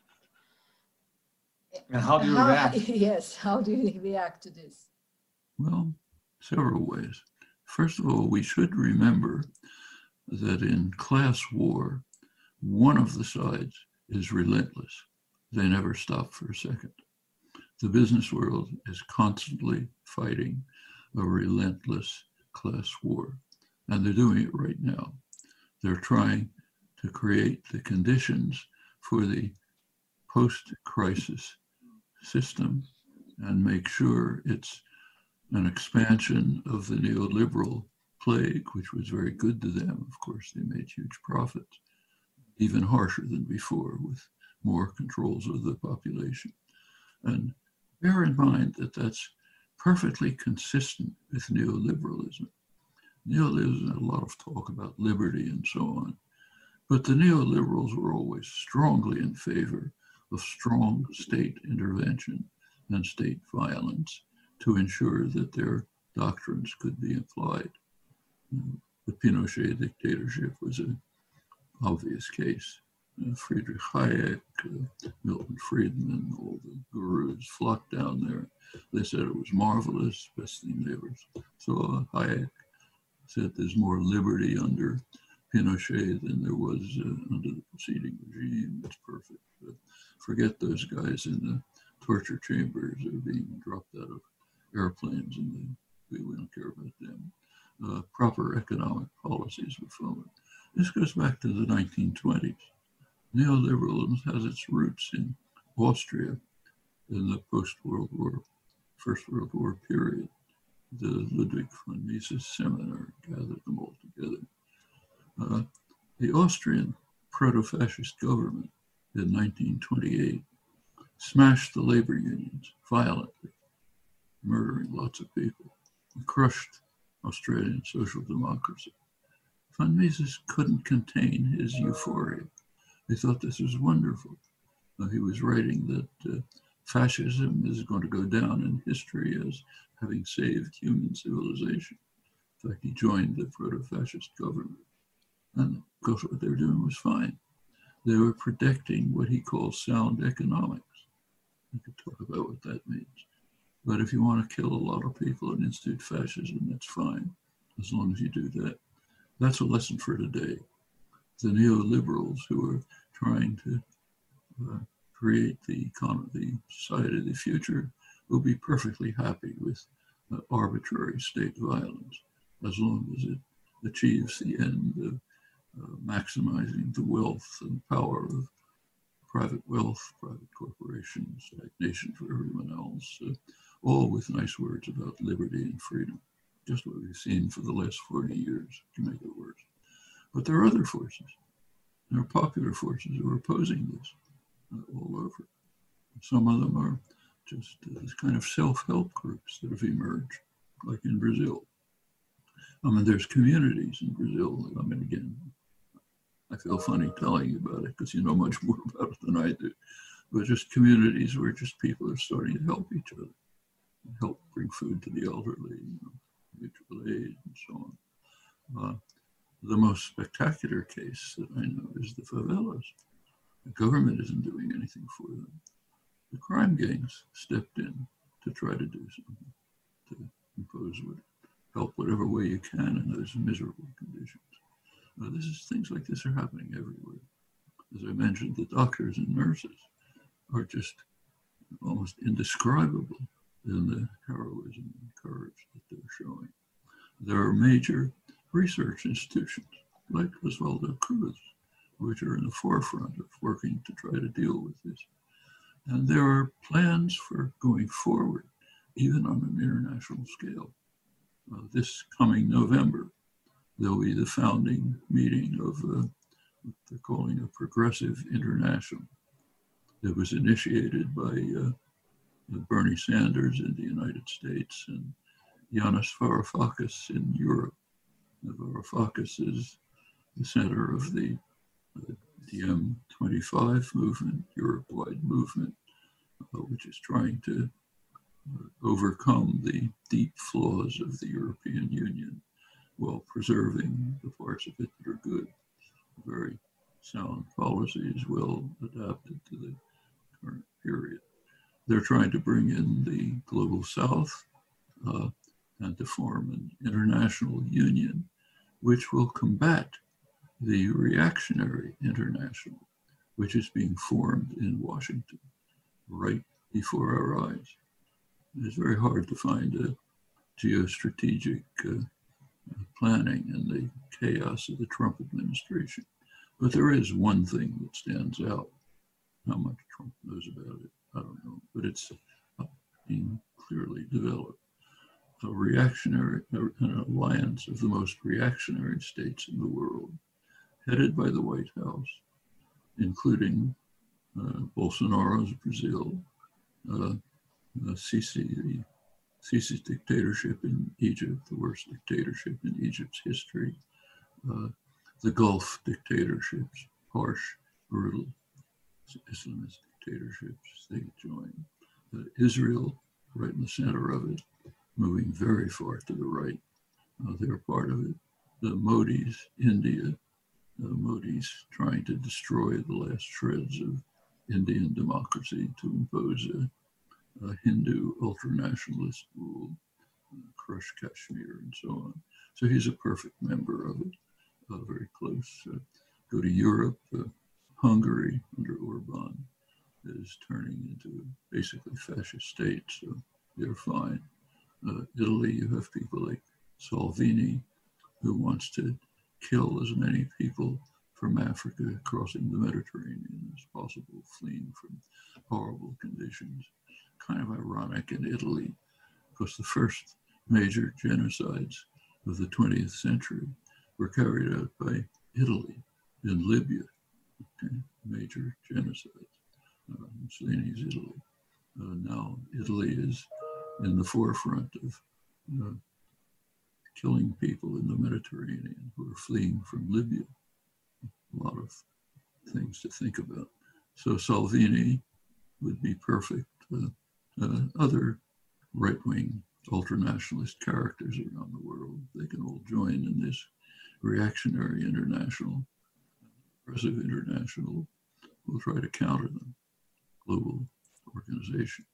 And how do you react? Yes, how do you react to this? Well, several ways. First of all, we should remember that in class war, one of the sides is relentless. They never stop for a second. The business world is constantly fighting a relentless class war, and they're doing it right now. They're trying to create the conditions for the post-crisis system and make sure it's an expansion of the neoliberal plague, which was very good to them. Of course, they made huge profits, even harsher than before, with more controls of the population. And bear in mind that that's perfectly consistent with neoliberalism. Neoliberalism had a lot of talk about liberty and so on, but the neoliberals were always strongly in favor of strong state intervention and state violence to ensure that their doctrines could be applied. The Pinochet dictatorship was an obvious case. Friedrich Hayek, Milton Friedman, all the gurus flocked down there. They said it was marvelous, best thing they ever saw. Hayek said there's more liberty under Pinochet than there was under the preceding regime. It's perfect. But forget those guys in the torture chambers or being dropped out of airplanes, and we don't care about them. Proper economic policies were followed. This goes back to the 1920s. Neoliberalism has its roots in Austria in the post-World War, First World War period. The Ludwig von Mises seminar gathered them all together. The Austrian proto-fascist government in 1928 smashed the labor unions violently, murdering lots of people, and crushed Australian social democracy. Von Mises couldn't contain his euphoria. He thought this was wonderful. He was writing that fascism is going to go down in history as having saved human civilization. In fact, he joined the proto-fascist government. And of course, what they were doing was fine. They were protecting what he calls sound economics. We could talk about what that means. But if you want to kill a lot of people and institute fascism, that's fine, as long as you do that. That's a lesson for today. The neoliberals who are trying to create the economy, the society of the future, will be perfectly happy with arbitrary state violence, as long as it achieves the end of maximizing the wealth and power of private wealth, private corporations, stagnation for everyone else, all with nice words about liberty and freedom. Just what we've seen for the last 40 years to make it worse. But there are other forces. There are popular forces who are opposing this all over. Some of them are just kind of self-help groups that have emerged, like in Brazil. I mean, there's communities in Brazil. I mean, again, I feel funny telling you about it because you know much more about it than I do. But just communities where just people are starting to help each other. help bring food to the elderly, mutual aid, and so on. The most spectacular case that I know is the favelas. The government isn't doing anything for them. The crime gangs stepped in to try to do something, to impose help whatever way you can in those miserable conditions. Things like this are happening everywhere. As I mentioned, the doctors and nurses are just almost indescribable in the heroism and courage that they're showing. There are major research institutions like Osvaldo Cruz, which are in the forefront of working to try to deal with this. And there are plans for going forward, even on an international scale. This coming November, there'll be the founding meeting of what they're calling a Progressive International. It was initiated by Bernie Sanders in the United States and Yanis Varoufakis in Europe. Varoufakis is the center of the DiEM25 movement, Europe-wide movement, which is trying to overcome the deep flaws of the European Union while preserving the parts of it that are good. Very sound policies, well adapted to the current period. They're trying to bring in the Global South and to form an international union which will combat the reactionary international, which is being formed in Washington right before our eyes. It's very hard to find a geostrategic planning in the chaos of the Trump administration. But there is one thing that stands out. How much Trump knows about it, I don't know, but it's being clearly developed. An alliance of the most reactionary states in the world, headed by the White House, including Bolsonaro's Brazil, Sisi's dictatorship in Egypt, the worst dictatorship in Egypt's history, the Gulf dictatorships, harsh, brutal Islamist dictatorships they join. Israel, right in the center of it, moving very far to the right. They're part of it. The Modis, India, Modis trying to destroy the last shreds of Indian democracy to impose a Hindu ultranationalist rule, crush Kashmir and so on. So he's a perfect member of it, very close. Go to Europe, Hungary under Orban is turning into basically fascist state, so they're fine. Italy, you have people like Salvini, who wants to kill as many people from Africa crossing the Mediterranean as possible, fleeing from horrible conditions. Kind of ironic in Italy, because the first major genocides of the 20th century were carried out by Italy in Libya. Okay? Major genocides. Mussolini's Italy. Now Italy is in the forefront of killing people in the Mediterranean who are fleeing from Libya. A lot of things to think about. So Salvini would be perfect. Other right-wing ultranationalist characters around the world, they can all join in this reactionary international, progressive international. We'll try to counter them. Global organization.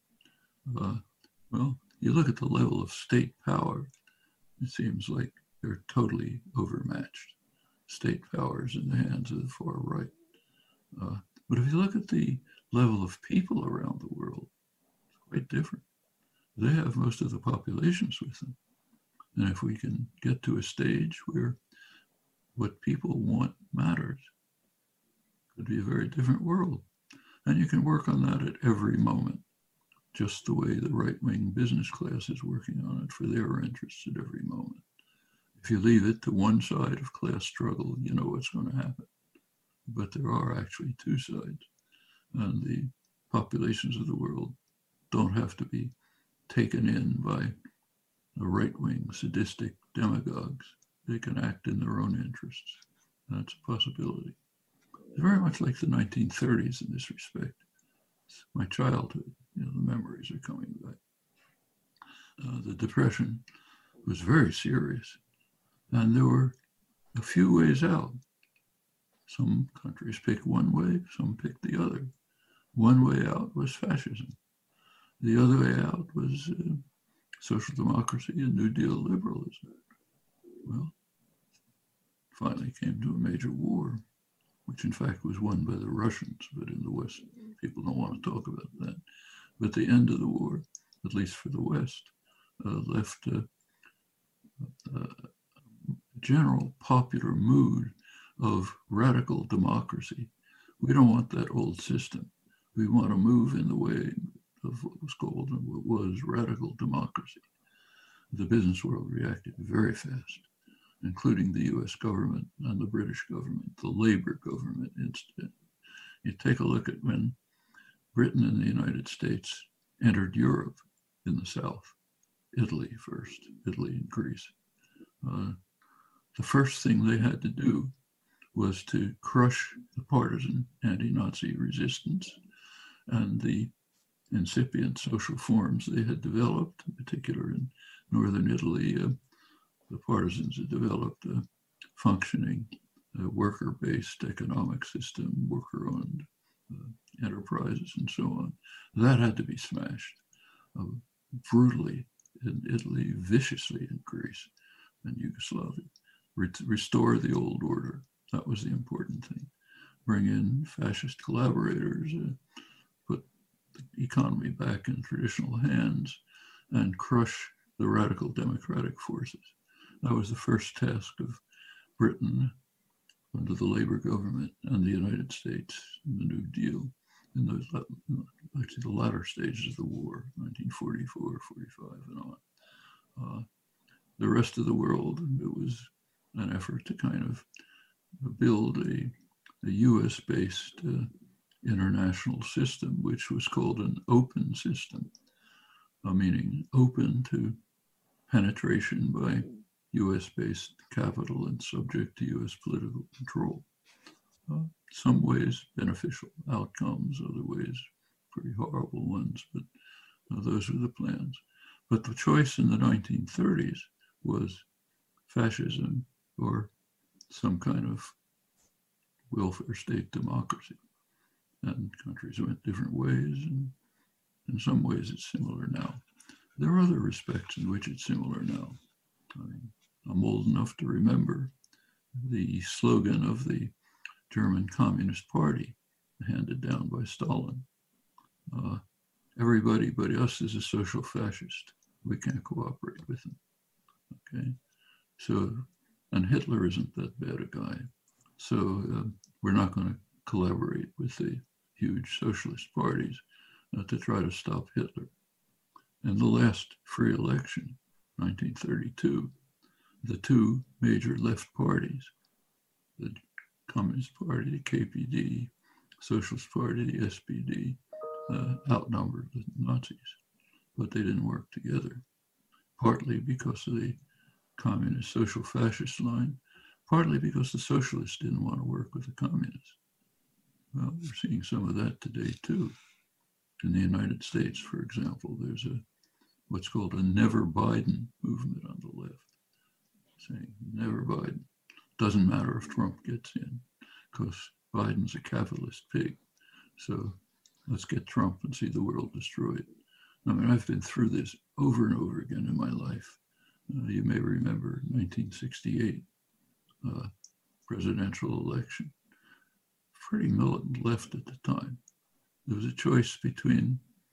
Well, you look at the level of state power, it seems like they're totally overmatched. State powers in the hands of the far right. But if you look at the level of people around the world, it's quite different. They have most of the populations with them. And if we can get to a stage where what people want matters, it could be a very different world. And you can work on that at every moment, just the way the right-wing business class is working on it for their interests at every moment. If you leave it to one side of class struggle, you know what's going to happen. But there are actually two sides. And the populations of the world don't have to be taken in by the right-wing sadistic demagogues. They can act in their own interests. That's a possibility. It's very much like the 1930s in this respect. It's my childhood, the memories are coming back. the Depression was very serious, and there were a few ways out. Some countries picked one way, some picked the other. One way out was fascism. The other way out was social democracy and New Deal liberalism. Well, finally came to a major war, which in fact was won by the Russians, but in the West, people don't want to talk about that. But the end of the war, at least for the West, left a general popular mood of radical democracy. We don't want that old system. We want to move in the way of what was called and what was radical democracy. The business world reacted very fast, including the US government and the British government, the Labour government instead. You take a look at when Britain and the United States entered Europe in the South, Italy first, Italy and Greece. The first thing they had to do was to crush the partisan anti-Nazi resistance and the incipient social forms they had developed, in particular in northern Italy. The partisans had developed a functioning worker-based economic system, worker-owned enterprises and so on. That had to be smashed brutally in Italy, viciously in Greece and Yugoslavia. Restore the old order. That was the important thing. Bring in fascist collaborators, put the economy back in traditional hands, and crush the radical democratic forces. That was the first task of Britain under the Labour government and the United States in the New Deal in those, actually the latter stages of the war, 1944, 45 and on. The rest of the world, it was an effort to kind of build a US-based international system, which was called an open system, meaning open to penetration by US-based capital and subject to US political control. Some ways beneficial outcomes, other ways pretty horrible ones, but those were the plans. But the choice in the 1930s was fascism or some kind of welfare state democracy. And countries went different ways, and in some ways it's similar now. There are other respects in which it's similar now. I mean, I'm old enough to remember the slogan of the German Communist Party handed down by Stalin. Everybody but us is a social fascist. We can't cooperate with them. Okay, so, and Hitler isn't that bad a guy. So we're not going to collaborate with the huge socialist parties to try to stop Hitler. In the last free election, 1932, the two major left parties, the Communist Party, the KPD, Socialist Party, the SPD, outnumbered the Nazis, but they didn't work together, partly because of the communist social fascist line, partly because the socialists didn't want to work with the communists. Well, we're seeing some of that today too. In the United States, for example, there's what's called a never Biden movement on the left, saying never Biden. Doesn't matter if Trump gets in, because Biden's a capitalist pig. So let's get Trump and see the world destroyed. I mean, I've been through this over and over again in my life. You may remember 1968 presidential election. Pretty militant left at the time. There was a choice between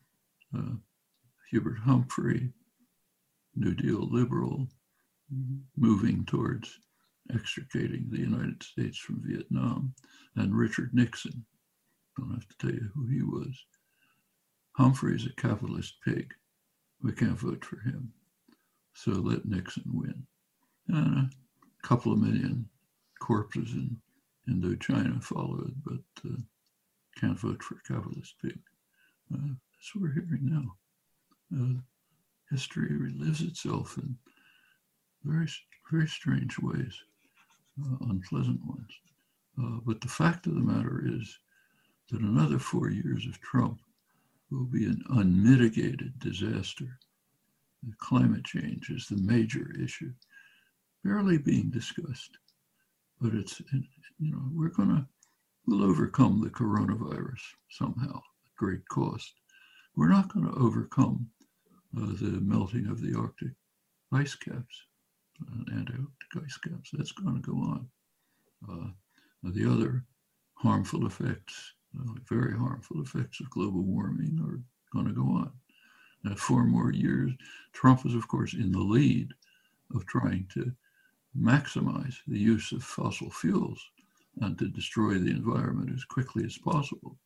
Hubert Humphrey, New Deal liberal, moving towards extricating the United States from Vietnam, and Richard Nixon. Don't have to tell you who he was. Humphrey's a capitalist pig. We can't vote for him. So let Nixon win. And a couple of million corpses in Indochina followed, but can't vote for a capitalist pig. That's what we're hearing now. History relives itself in very, very strange ways, unpleasant ones. But the fact of the matter is that another 4 years of Trump will be an unmitigated disaster Climate change is the major issue, barely being discussed. But it's, we'll overcome the coronavirus somehow at great cost. We're not going to overcome the melting of the Arctic ice caps, Antarctic ice caps. That's going to go on. The other harmful effects, very harmful effects of global warming are going to go on. 4 more years. Trump is, of course, in the lead of trying to maximize the use of fossil fuels and to destroy the environment as quickly as possible.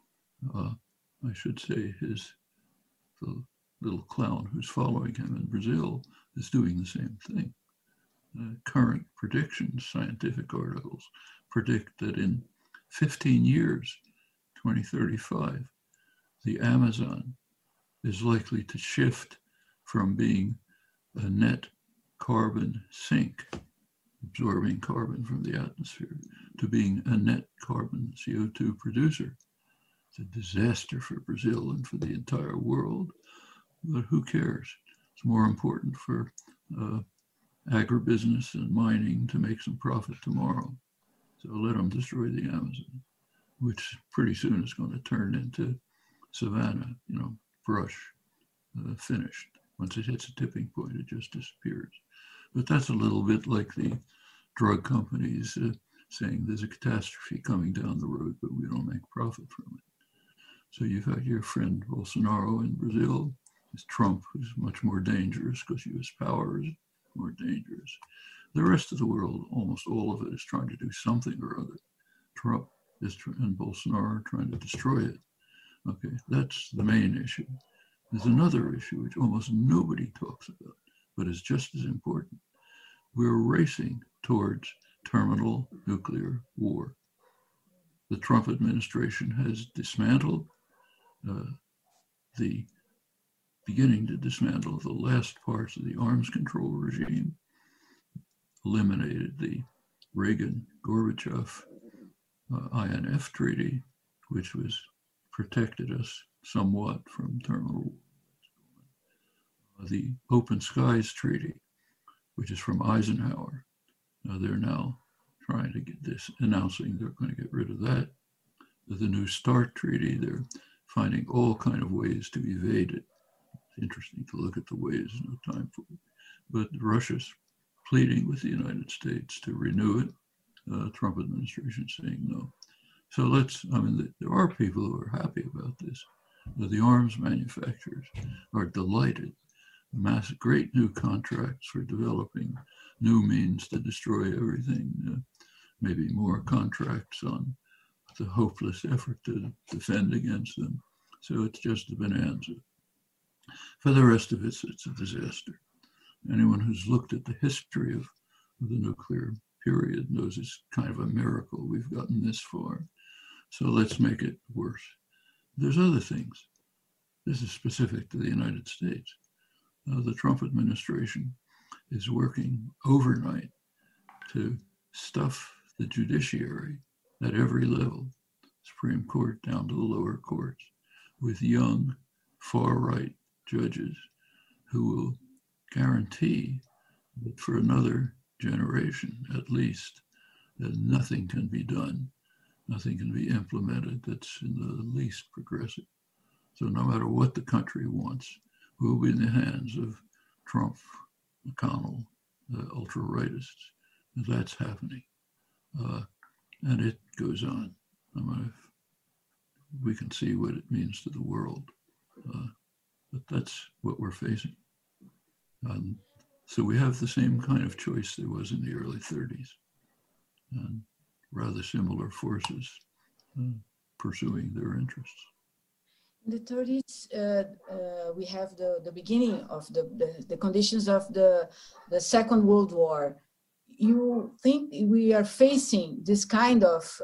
I should say the little clown who's following him in Brazil is doing the same thing. Current predictions, scientific articles, predict that in 15 years, 2035, the Amazon is likely to shift from being a net carbon sink, absorbing carbon from the atmosphere, to being a net carbon CO2 producer. It's a disaster for Brazil and for the entire world, but who cares? It's more important for agribusiness and mining to make some profit tomorrow. So let them destroy the Amazon, which pretty soon is going to turn into savanna, brush, finished. Once it hits a tipping point, it just disappears. But that's a little bit like the drug companies saying there's a catastrophe coming down the road, but we don't make profit from it. So you've had your friend Bolsonaro in Brazil. It's Trump, who's much more dangerous because US power is more dangerous. The rest of the world, almost all of it, is trying to do something or other. Trump and Bolsonaro are trying to destroy it. Okay, that's the main issue. There's another issue which almost nobody talks about, but is just as important. We're racing towards terminal nuclear war. The Trump administration has dismantled beginning to dismantle the last parts of the arms control regime, eliminated the Reagan-Gorbachev INF treaty, which was protected us somewhat from terminal war. The Open Skies Treaty, which is from Eisenhower. They're now trying to get this, announcing they're going to get rid of that. The New START Treaty, they're finding all kind of ways to evade it. It's interesting to look at the ways, no time for it. But Russia's pleading with the United States to renew it. Trump administration saying no. So there are people who are happy about this. The arms manufacturers are delighted. Great new contracts for developing new means to destroy everything. Maybe more contracts on the hopeless effort to defend against them. So it's just a bonanza. For the rest of it, it's a disaster. Anyone who's looked at the history of the nuclear period knows it's kind of a miracle we've gotten this far. So let's make it worse. There's other things. This is specific to the United States. The Trump administration is working overnight to stuff the judiciary at every level, Supreme Court down to the lower courts, with young, far-right judges who will guarantee that for another generation, at least, that nothing can be done, nothing can be implemented that's in the least progressive. So no matter what the country wants, we'll be in the hands of Trump, McConnell, the ultra-rightists. That's happening. And it goes on. We can see what it means to the world. But that's what we're facing. So we have the same kind of choice there was in the early 30s. And rather similar forces pursuing their interests. In the 30s, we have the beginning of the conditions of the Second World War. You think we are facing this kind of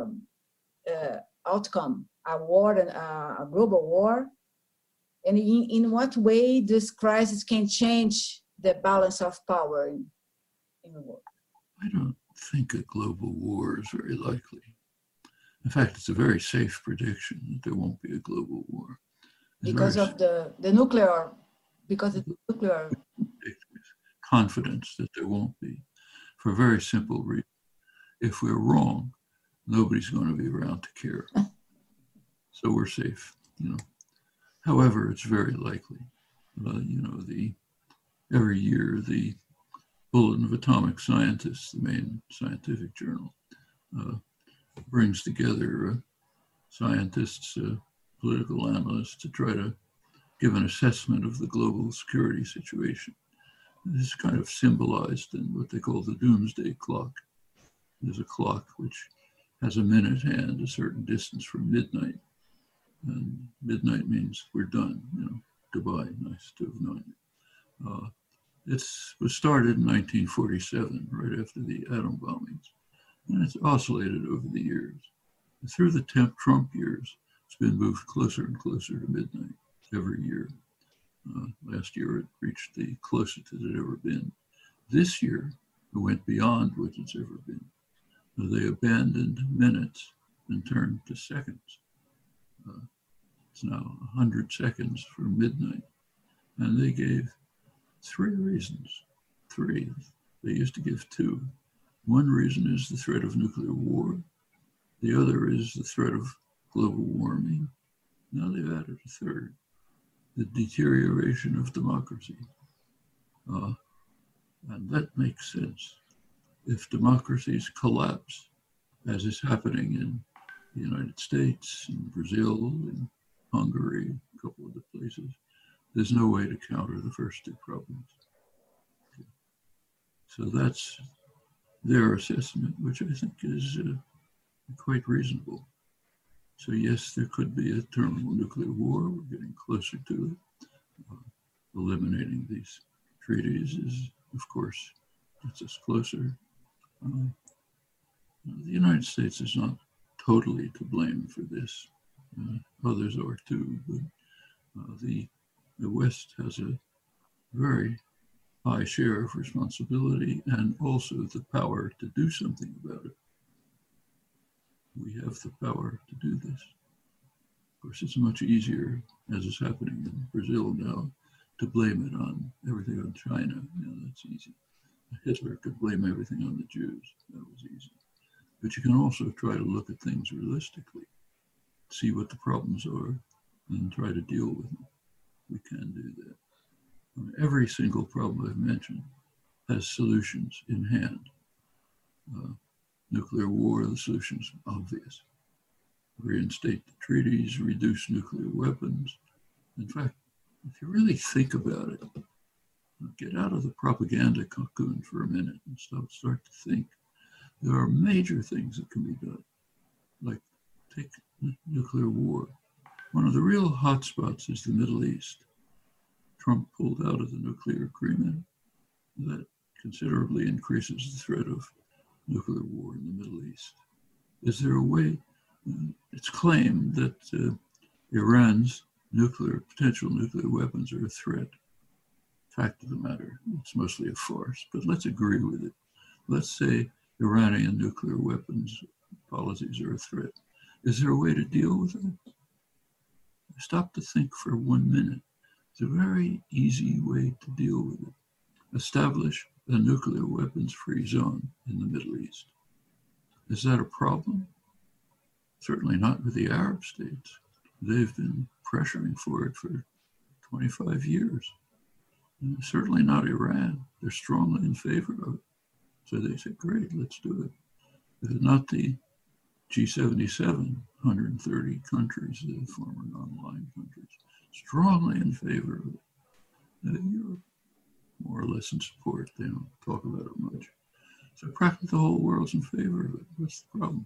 outcome, a war, and a global war? And in what way this crisis can change the balance of power in the world? I don't think a global war is very likely. In fact, it's a very safe prediction that there won't be a global war. Because of the nuclear because it's nuclear. Confidence that there won't be, for a very simple reason. If we're wrong, nobody's going to be around to care. So we're safe, you know. However, it's very likely, you know, every year the Bulletin of Atomic Scientists, the main scientific journal, brings together scientists, political analysts to try to give an assessment of the global security situation. This is kind of symbolized in what they call the doomsday clock. There's a clock which has a minute hand a certain distance from midnight. And midnight means we're done, you know, goodbye, nice to have known you. It was started in 1947, right after the atom bombings, and it's oscillated over the years. And through the Trump years, it's been moved closer and closer to midnight every year. Last year, it reached the closest it had ever been. This year, it went beyond what it's ever been. They abandoned minutes and turned to seconds. It's now 100 seconds for midnight. And they gave 3 reasons. 3. They used to give 2. One reason is the threat of nuclear war. The other is the threat of global warming. Now they've added a 3rd, the deterioration of democracy. And that makes sense. If democracies collapse, as is happening in the United States, in Brazil, in Hungary, a couple of other places, there's no way to counter the first 2 problems. Okay. So that's their assessment, which I think is quite reasonable. So yes, there could be a terminal nuclear war. We're getting closer to it. Eliminating these treaties is, of course, gets us closer. The United States is not totally to blame for this. Others are too, but the West has a very high share of responsibility and also the power to do something about it. We have the power to do this. Of course, it's much easier, as is happening in Brazil now, to blame it on everything on China. You know, that's easy. Hitler could blame everything on the Jews. That was easy. But you can also try to look at things realistically, see what the problems are, and try to deal with them. We can do that. Every single problem I've mentioned has solutions in hand. Nuclear war, the solution's obvious. Reinstate the treaties, reduce nuclear weapons. In fact, if you really think about it, get out of the propaganda cocoon for a minute and start to think. There are major things that can be done, like take nuclear war. One of the real hotspots is the Middle East. Trump pulled out of the nuclear agreement. That considerably increases the threat of nuclear war in the Middle East. Is there a way? It's claimed that Iran's potential nuclear weapons are a threat. Fact of the matter, it's mostly a farce, but let's agree with it. Let's say Iranian nuclear weapons policies are a threat. Is there a way to deal with it? Stop to think for 1 minute. It's a very easy way to deal with it. Establish a nuclear weapons-free zone in the Middle East. Is that a problem? Certainly not with the Arab states. They've been pressuring for it for 25 years. And certainly not Iran. They're strongly in favor of it. So they said, great, let's do it. But not the G77, 130 countries, the former non-aligned countries, strongly in favor of it. Europe, more or less in support. They don't talk about it much. So practically the whole world's in favor of it. What's the problem?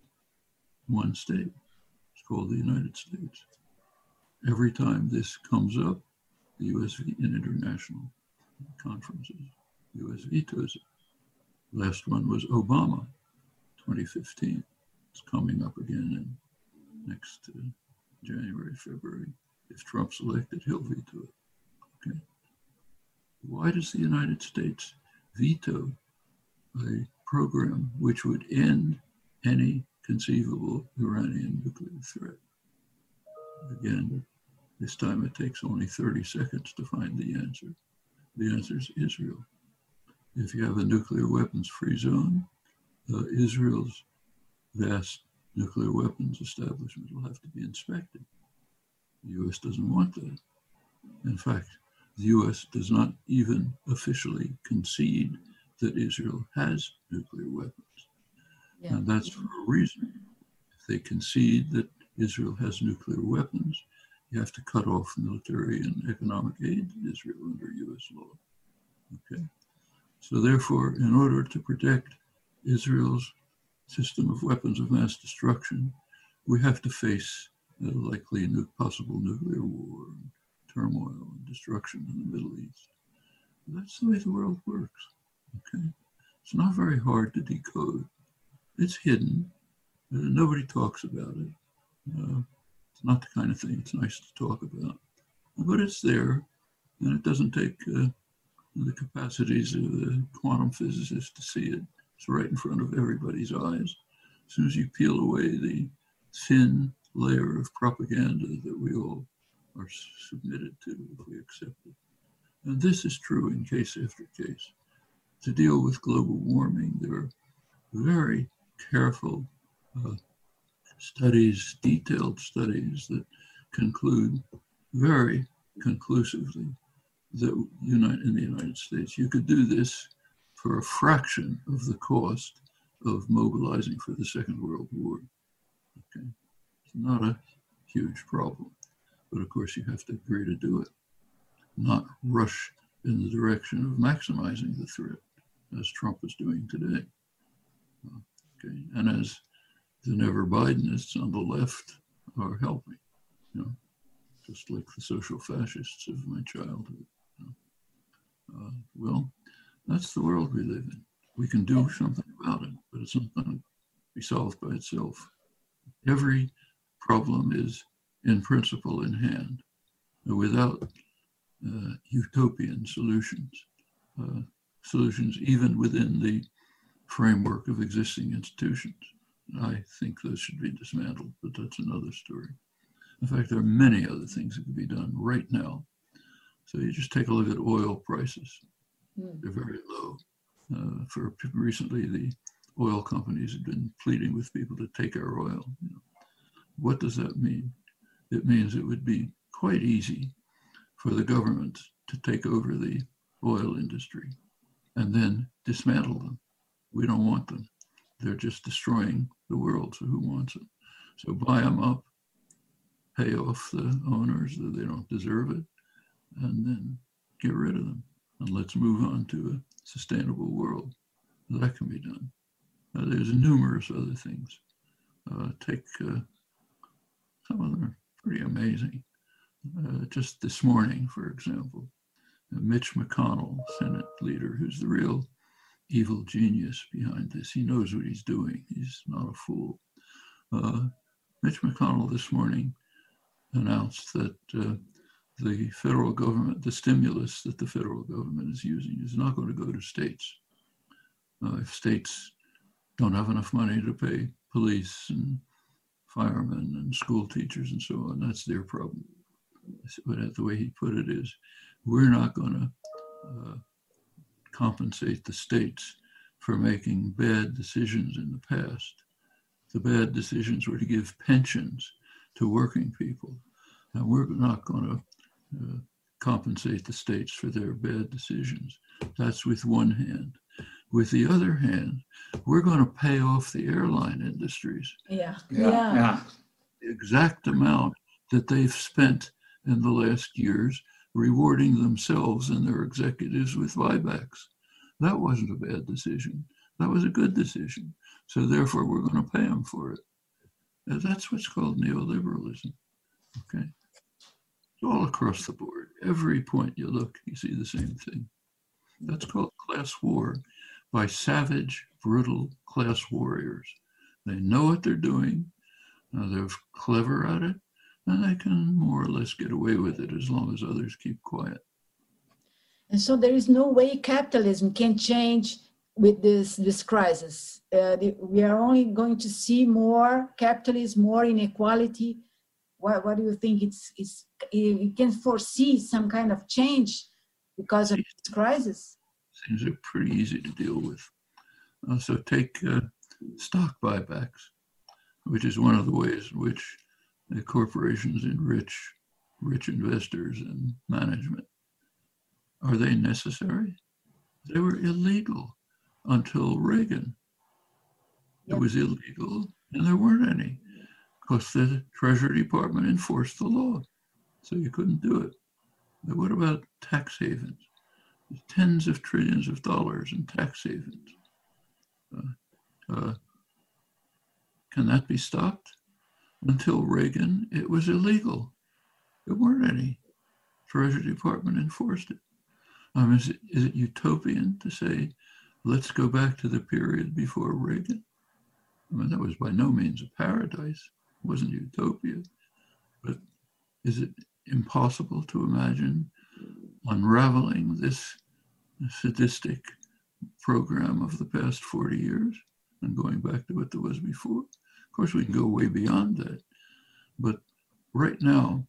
One state. It's called the United States. Every time this comes up, the U.S. in international conferences, the U.S. vetoes it. Last one was Obama, 2015. It's coming up again in next January, February. If Trump's elected, he'll veto it. Okay. Why does the United States veto a program which would end any conceivable Iranian nuclear threat? Again, This time it takes only 30 seconds to find the answer. The answer is Israel. If you have a nuclear weapons-free zone, Israel's vast nuclear weapons establishment will have to be inspected. The U.S. doesn't want that. In fact, the U.S. does not even officially concede that Israel has nuclear weapons. Yeah. And that's for a reason. If they concede that Israel has nuclear weapons, you have to cut off military and economic aid to Israel under U.S. law. Okay? So therefore, in order to protect Israel's system of weapons of mass destruction, we have to face the likely possible nuclear war, and turmoil, and destruction in the Middle East. That's the way the world works. Okay? It's not very hard to decode. It's hidden. Nobody talks about it. It's not the kind of thing it's nice to talk about. But it's there, and it doesn't take the capacities of the quantum physicists to see it. It's right in front of everybody's eyes. As soon as you peel away the thin layer of propaganda that we all are submitted to if we accept it. And this is true in case after case. To deal with global warming, there are very careful studies, detailed studies that conclude very conclusively that in the United States, you could do this for a fraction of the cost of mobilizing for the Second World War. Okay, it's not a huge problem, but of course you have to agree to do it, not rush in the direction of maximizing the threat, as Trump is doing today. Okay, and as the never Bidenists on the left are helping, just like the social fascists of my childhood. Well, that's the world we live in. We can do something about it, but it's not going to be solved by itself. Every problem is, in principle, in hand, without utopian solutions, solutions even within the framework of existing institutions. I think those should be dismantled, but that's another story. In fact, there are many other things that can be done right now. So you just take a look at oil prices. They're very low. For recently, the oil companies have been pleading with people to take our oil. What does that mean? It means it would be quite easy for the government to take over the oil industry and then dismantle them. We don't want them. They're just destroying the world, so who wants them? So buy them up, pay off the owners that they don't deserve it, and then get rid of them. And let's move on to a sustainable world. That can be done. There's numerous other things. Take some of them are pretty amazing. Just this morning, for example, Mitch McConnell, Senate leader, who's the real evil genius behind this. He knows what he's doing. He's not a fool. Mitch McConnell this morning announced that the federal government, the stimulus that the federal government is using is not going to go to states. If states don't have enough money to pay police and firemen and school teachers and so on, that's their problem. But the way he put it is, we're not going to compensate the states for making bad decisions in the past. The bad decisions were to give pensions to working people, and we're not going to compensate the states for their bad decisions. That's with one hand. With the other hand, we're going to pay off the airline industries. The exact amount that they've spent in the last years rewarding themselves and their executives with buybacks. That wasn't a bad decision. That was a good decision. So therefore, we're going to pay them for it. And that's what's called neoliberalism. Okay. All across the board. Every point you look, you see the same thing. That's called class war by savage, brutal class warriors. They know what they're doing. They're clever at it, and they can more or less get away with it as long as others keep quiet. And so there is no way capitalism can change with this crisis. We are only going to see more capitalism, more inequality, what do you think? You can foresee some kind of change because of this crisis? Things are pretty easy to deal with. So take stock buybacks, which is one of the ways in which the corporations enrich rich investors and management. Are they necessary? They were illegal until Reagan. It was illegal, and there weren't any, because the Treasury Department enforced the law, so you couldn't do it. But what about tax havens? There's tens of trillions of dollars in tax havens. Can that be stopped? Until Reagan, it was illegal. There weren't any. Treasury Department enforced it. Is it utopian to say, let's go back to the period before Reagan? I mean, that was by no means a paradise. It wasn't utopia. But is it impossible to imagine unraveling this sadistic program of the past 40 years and going back to what there was before? Of course, we can go way beyond that. But right now,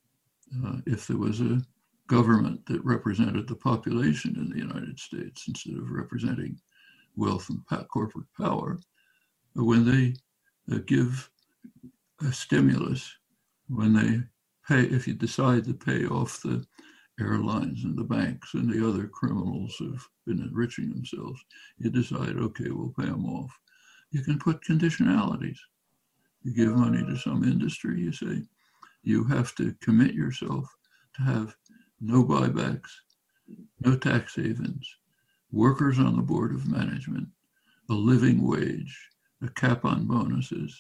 if there was a government that represented the population in the United States instead of representing wealth and corporate power, when they give a stimulus, when they pay, if you decide to pay off the airlines and the banks and the other criminals who've been enriching themselves, you decide, okay, we'll pay them off. You can put conditionalities. You give money to some industry, you say, you have to commit yourself to have no buybacks, no tax havens, workers on the board of management, a living wage, a cap on bonuses,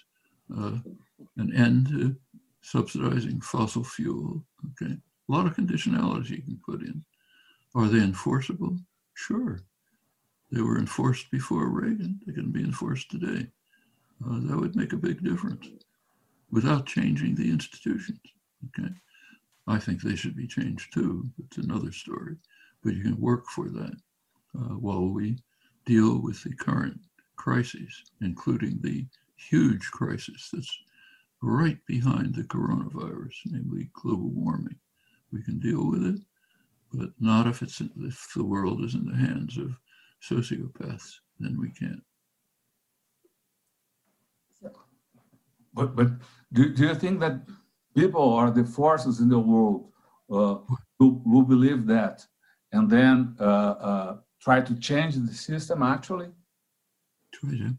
an end to subsidizing fossil fuel. Okay, a lot of conditionalities you can put in. Are they enforceable? Sure. They were enforced before Reagan. They can be enforced today. That would make a big difference without changing the institutions. Okay, I think they should be changed too. It's another story, but you can work for that while we deal with the current crises, including the huge crisis that's right behind the coronavirus, namely global warming. We can deal with it, but not if the world is in the hands of sociopaths, then we can't. But do you think that people or the forces in the world who believe that and then try to change the system actually? Try to.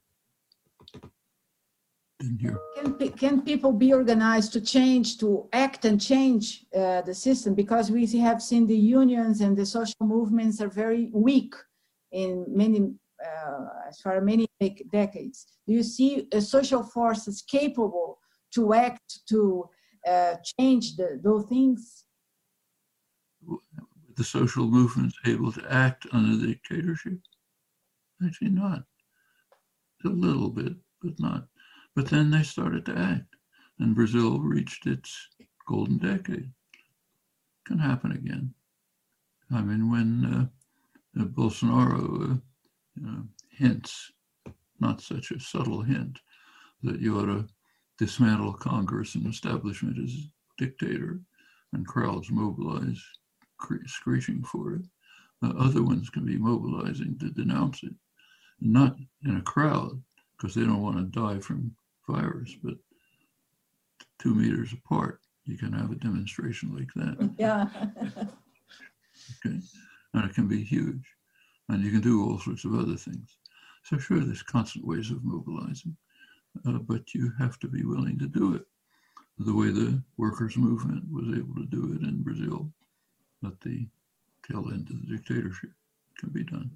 Didn't hear. Can people be organized to change, to act and change the system? Because we have seen the unions and the social movements are very weak in many, as far as many decades. Do you see social forces capable to act, to change those things? The social movements able to act under the dictatorship? Actually not. A little bit, but not. But then they started to act, and Brazil reached its golden decade. Can happen again. I mean, when Bolsonaro hints, not such a subtle hint, that you ought to dismantle Congress and establishment as dictator, and crowds mobilize, screeching for it. Other ones can be mobilizing to denounce it, not in a crowd, because they don't want to die from virus, but 2 meters apart. You can have a demonstration like that. Yeah. Okay, and it can be huge, and you can do all sorts of other things. So sure, there's constant ways of mobilizing, but you have to be willing to do it the way the workers' movement was able to do it in Brazil at the tail end of the dictatorship. It can be done.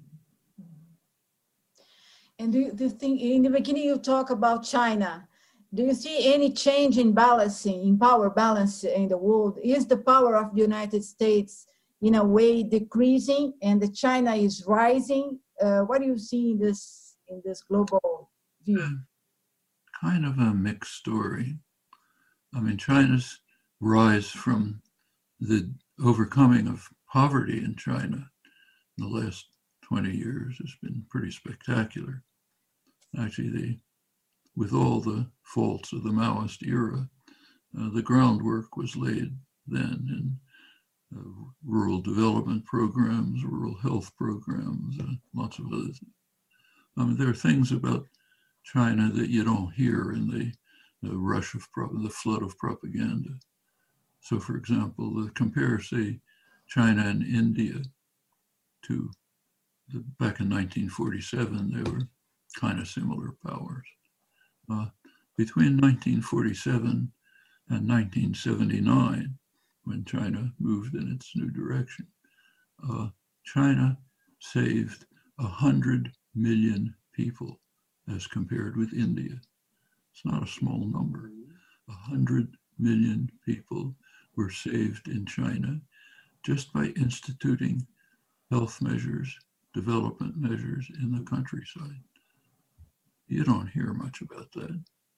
And do you think, in the beginning you talk about China, do you see any change in balancing, in power balance in the world? Is the power of the United States in a way decreasing and the China is rising? What do you see in this global view? Kind of a mixed story. I mean, China's rise from the overcoming of poverty in China in the last 20 years has been pretty spectacular. Actually, with all the faults of the Maoist era, The groundwork was laid then in rural development programs, rural health programs, lots of other things. I mean, there are things about China that you don't hear in the rush of the flood of propaganda. So, for example, compare, say, China and India to back in 1947, they were kind of similar powers. Between 1947 and 1979, when China moved in its new direction, China saved 100 million people as compared with India. It's not a small number. 100 million people were saved in China just by instituting health measures, development measures in the countryside. You don't hear much about that.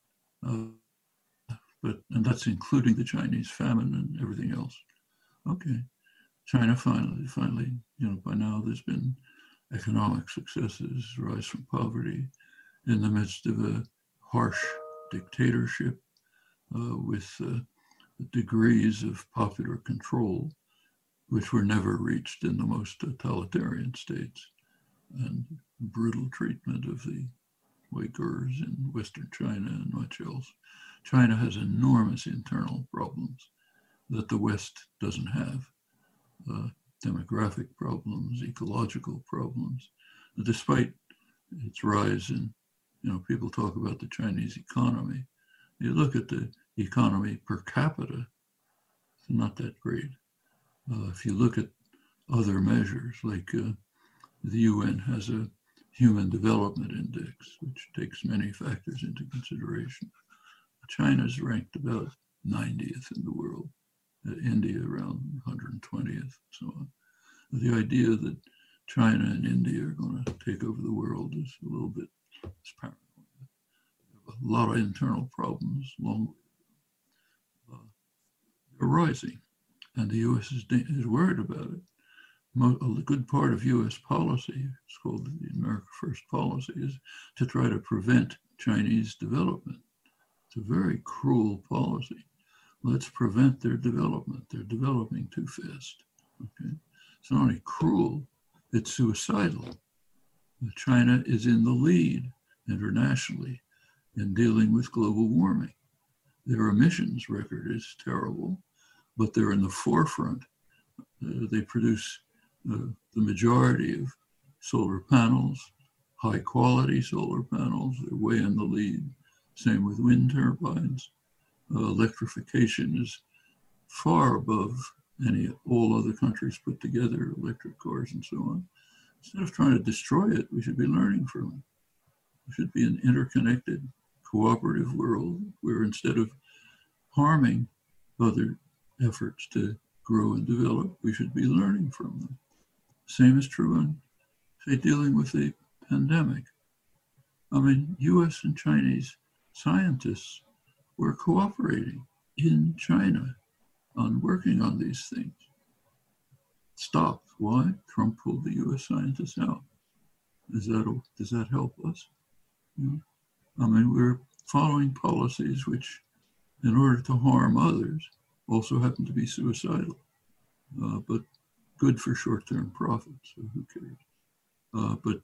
And that's including the Chinese famine and everything else. Okay, China finally, by now there's been economic successes, rise from poverty in the midst of a harsh dictatorship with degrees of popular control, which were never reached in the most totalitarian states, and brutal treatment of the Uyghurs in Western China and much else. China has enormous internal problems that the West doesn't have. Demographic problems, ecological problems. Despite its rise in, people talk about the Chinese economy. You look at the economy per capita, it's not that great. If you look at other measures, like the UN has a Human Development Index, which takes many factors into consideration. China's ranked about 90th in the world, India around 120th, so on. The idea that China and India are going to take over the world is a little bit paranoid. A lot of internal problems, they're rising, and the U.S. is worried about it. A good part of U.S. policy, it's called the America First policy, is to try to prevent Chinese development. It's a very cruel policy. Let's prevent their development. They're developing too fast. Okay? It's not only cruel, it's suicidal. China is in the lead internationally in dealing with global warming. Their emissions record is terrible, but they're in the forefront. They produce the majority of solar panels, high quality solar panels. They're way in the lead. Same with wind turbines. Electrification is far above all other countries put together, electric cars and so on. Instead of trying to destroy it, we should be learning from it. We should be an interconnected, cooperative world where instead of harming other efforts to grow and develop, we should be learning from them. Same is true in, say, dealing with the pandemic. I mean, US and Chinese scientists were cooperating in China on working on these things. Stopped. Why? Trump pulled the US scientists out. Does that help us? I mean, we're following policies which, in order to harm others, also happen to be suicidal, but good for short-term profits, so who cares? But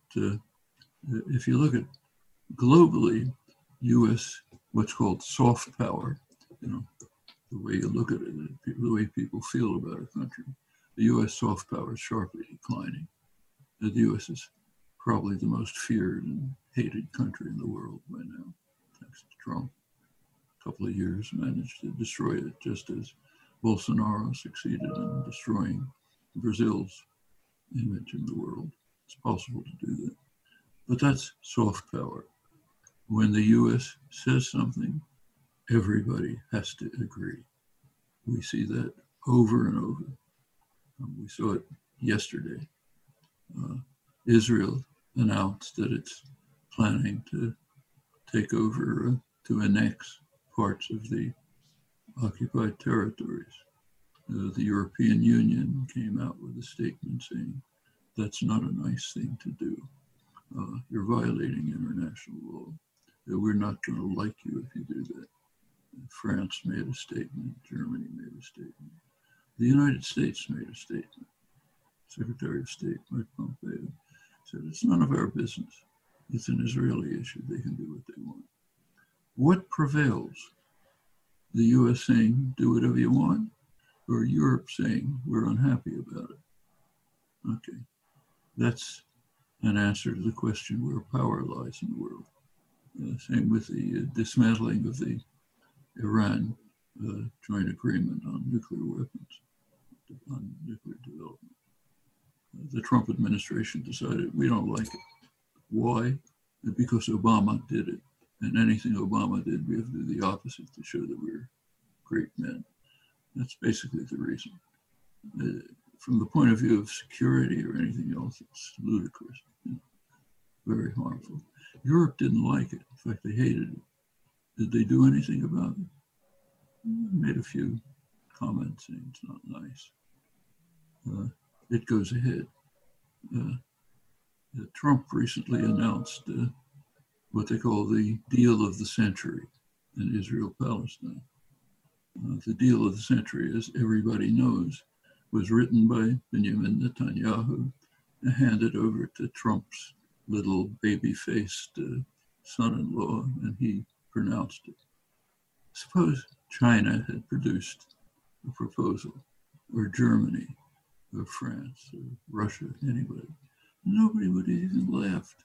if you look at globally, US, what's called soft power, the way you look at it, the way people feel about a country, the US soft power is sharply declining. The US is probably the most feared and hated country in the world by now, thanks to Trump. A couple of years managed to destroy it, just as Bolsonaro succeeded in destroying Brazil's image in the world. It's possible to do that. But that's soft power. When the US says something, everybody has to agree. We see that over and over. We saw it yesterday. Israel announced that it's planning to take over, to annex parts of the occupied territories. The European Union came out with a statement saying, that's not a nice thing to do. You're violating international law. We're not going to like you if you do that. France made a statement. Germany made a statement. The United States made a statement. Secretary of State Mike Pompeo said, it's none of our business. It's an Israeli issue. They can do what they want. What prevails? The US saying, do whatever you want, or Europe saying, we're unhappy about it? Okay, that's an answer to the question where power lies in the world. Same with the dismantling of the Iran joint agreement on nuclear weapons, on nuclear development. The Trump administration decided we don't like it. Why? Because Obama did it. And anything Obama did, we have to do the opposite to show that we're great men. That's basically the reason. From the point of view of security or anything else, it's ludicrous, very harmful. Europe didn't like it. In fact, they hated it. Did they do anything about it? Made a few comments saying it's not nice. It goes ahead. Trump recently announced what they call the deal of the century in Israel-Palestine. The deal of the century, as everybody knows, was written by Benjamin Netanyahu and handed over to Trump's little baby-faced son-in-law, and he pronounced it. Suppose China had produced a proposal, or Germany, or France, or Russia, anybody. Nobody would have even laughed.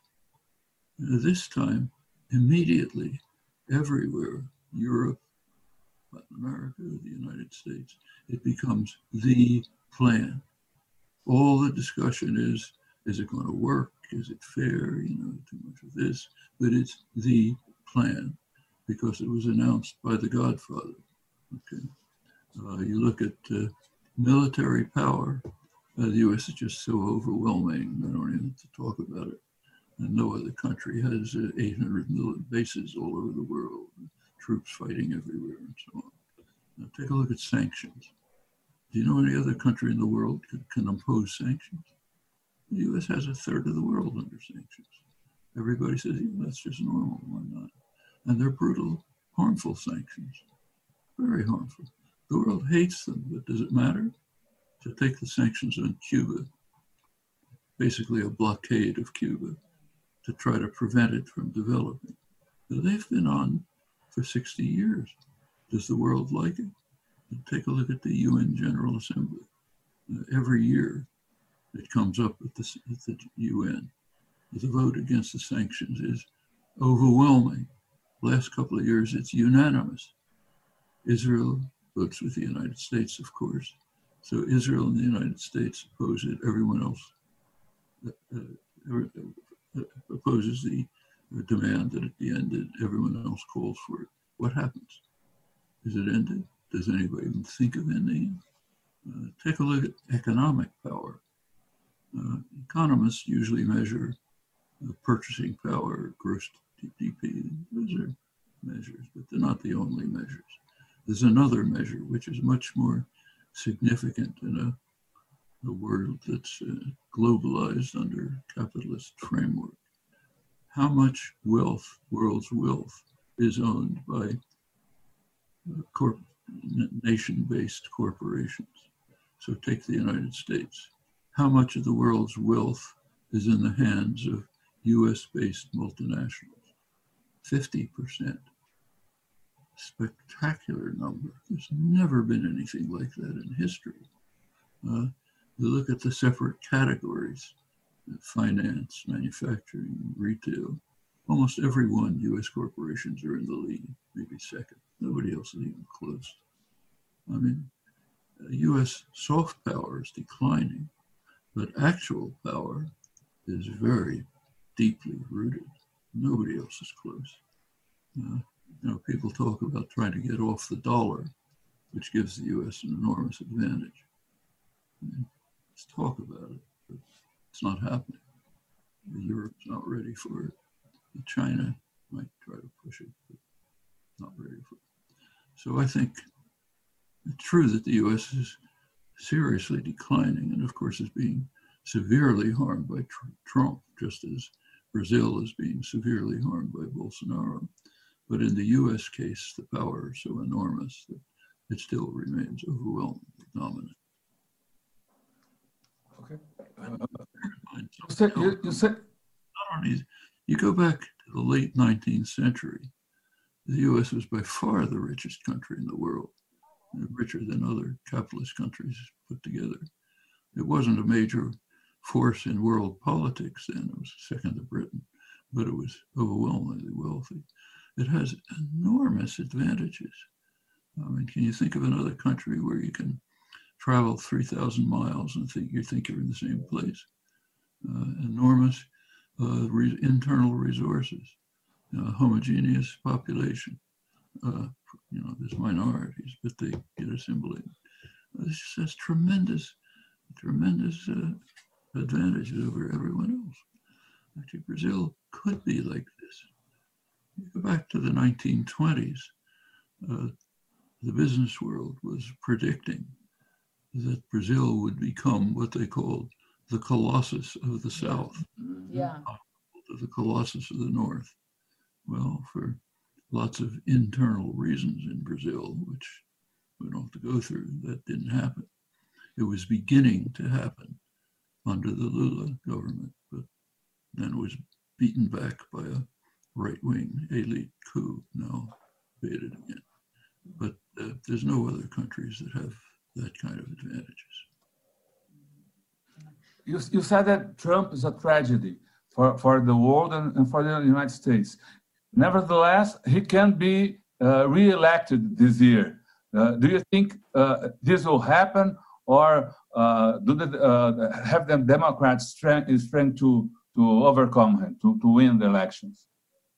This time, immediately, everywhere, Europe, Latin America, the United States, it becomes the plan. All the discussion is it going to work? Is it fair? Too much of this, but it's the plan because it was announced by the Godfather. Okay, you look at military power. The U.S. is just so overwhelming. I don't even have to talk about it. And no other country has 800 million bases all over the world, troops fighting everywhere, and so on. Now take a look at sanctions. Do you know any other country in the world can impose sanctions? The U.S. has a third of the world under sanctions. Everybody says, that's just normal, why not? And they're brutal, harmful sanctions, very harmful. The world hates them, but does it matter? To take the sanctions on Cuba, basically a blockade of Cuba, to try to prevent it from developing. They've been on for 60 years. Does the world like it? Take a look at the UN General Assembly. Every year it comes up at the UN. The vote against the sanctions is overwhelming. Last couple of years it's unanimous. Israel votes with the United States, of course. So Israel and the United States oppose it. Everyone else opposes the demand that it be ended. Everyone else calls for it. What happens? Is it ended? Does anybody even think of ending it? Take a look at economic power. Economists usually measure purchasing power, gross GDP. Those are measures, but they're not the only measures. There's another measure which is much more significant in a world that's globalized under capitalist framework. How much wealth, world's wealth, is owned by nation-based corporations? So take the United States. How much of the world's wealth is in the hands of US-based multinationals? 50%. Spectacular number. There's never been anything like that in history. You look at the separate categories, finance, manufacturing, retail. Almost every one, US corporations are in the lead, maybe second. Nobody else is even close. I mean, US soft power is declining, but actual power is very deeply rooted. Nobody else is close. People talk about trying to get off the dollar, which gives the US an enormous advantage. Let's talk about it, but it's not happening. Europe's not ready for it. China might try to push it, but not ready for it. So I think it's true that the US is seriously declining and of course is being severely harmed by Trump, just as Brazil is being severely harmed by Bolsonaro. But in the US case, the power is so enormous that it still remains overwhelmingly dominant. Okay. Not only, you go back to the late 19th century, the US was by far the richest country in the world, richer than other capitalist countries put together. It wasn't a major force in world politics then, it was second to Britain, but it was overwhelmingly wealthy. It has enormous advantages. I mean, can you think of another country where you can travel 3,000 miles and think you're in the same place? Enormous internal resources, homogeneous population. There's minorities, but they get assimilated. This just has tremendous advantages over everyone else. Actually, Brazil could be like this. You go back to the 1920s, the business world was predicting that Brazil would become what they called the Colossus of the South, the Colossus of the North. Well, for lots of internal reasons in Brazil, which we don't have to go through, that didn't happen. It was beginning to happen under the Lula government, but then it was beaten back by a right-wing elite coup, now debated again. But there's no other countries that have that kind of advantages. You said that Trump is a tragedy for the world and for the United States. Nevertheless, he can be re-elected this year. Do you think this will happen, or have the Democrats strength to overcome him, to win the elections?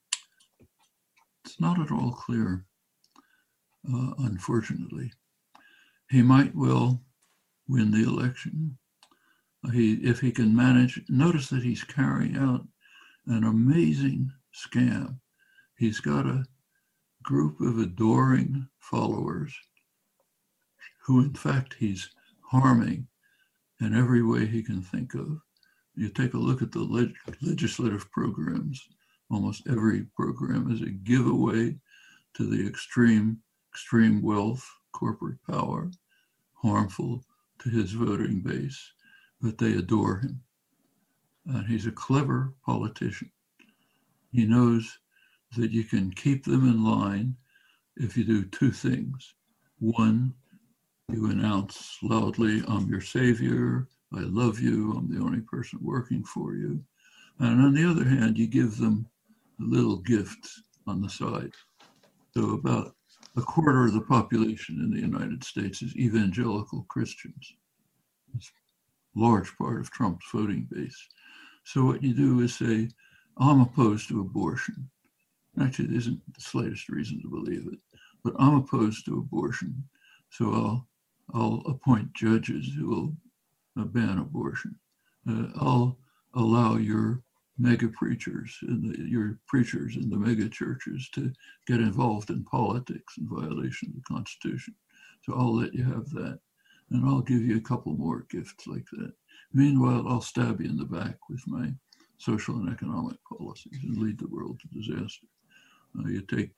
It's not at all clear, unfortunately. He might well win the election. If he can manage, notice that he's carrying out an amazing scam. He's got a group of adoring followers who, in fact, he's harming in every way he can think of. You take a look at the legislative programs. Almost every program is a giveaway to the extreme wealth, corporate power, harmful to his voting base, but they adore him. And he's a clever politician. He knows that you can keep them in line if you do two things. One, you announce loudly, I'm your savior, I love you, I'm the only person working for you. And on the other hand, you give them little gifts on the side. So about a quarter of the population in the United States is evangelical Christians. It's a large part of Trump's voting base. So what you do is say, I'm opposed to abortion. Actually, there isn't the slightest reason to believe it, but I'm opposed to abortion. So I'll appoint judges who will ban abortion. I'll allow your mega preachers and your preachers in the mega churches to get involved in politics in violation of the Constitution. So I'll let you have that. And I'll give you a couple more gifts like that. Meanwhile, I'll stab you in the back with my social and economic policies and lead the world to disaster. You take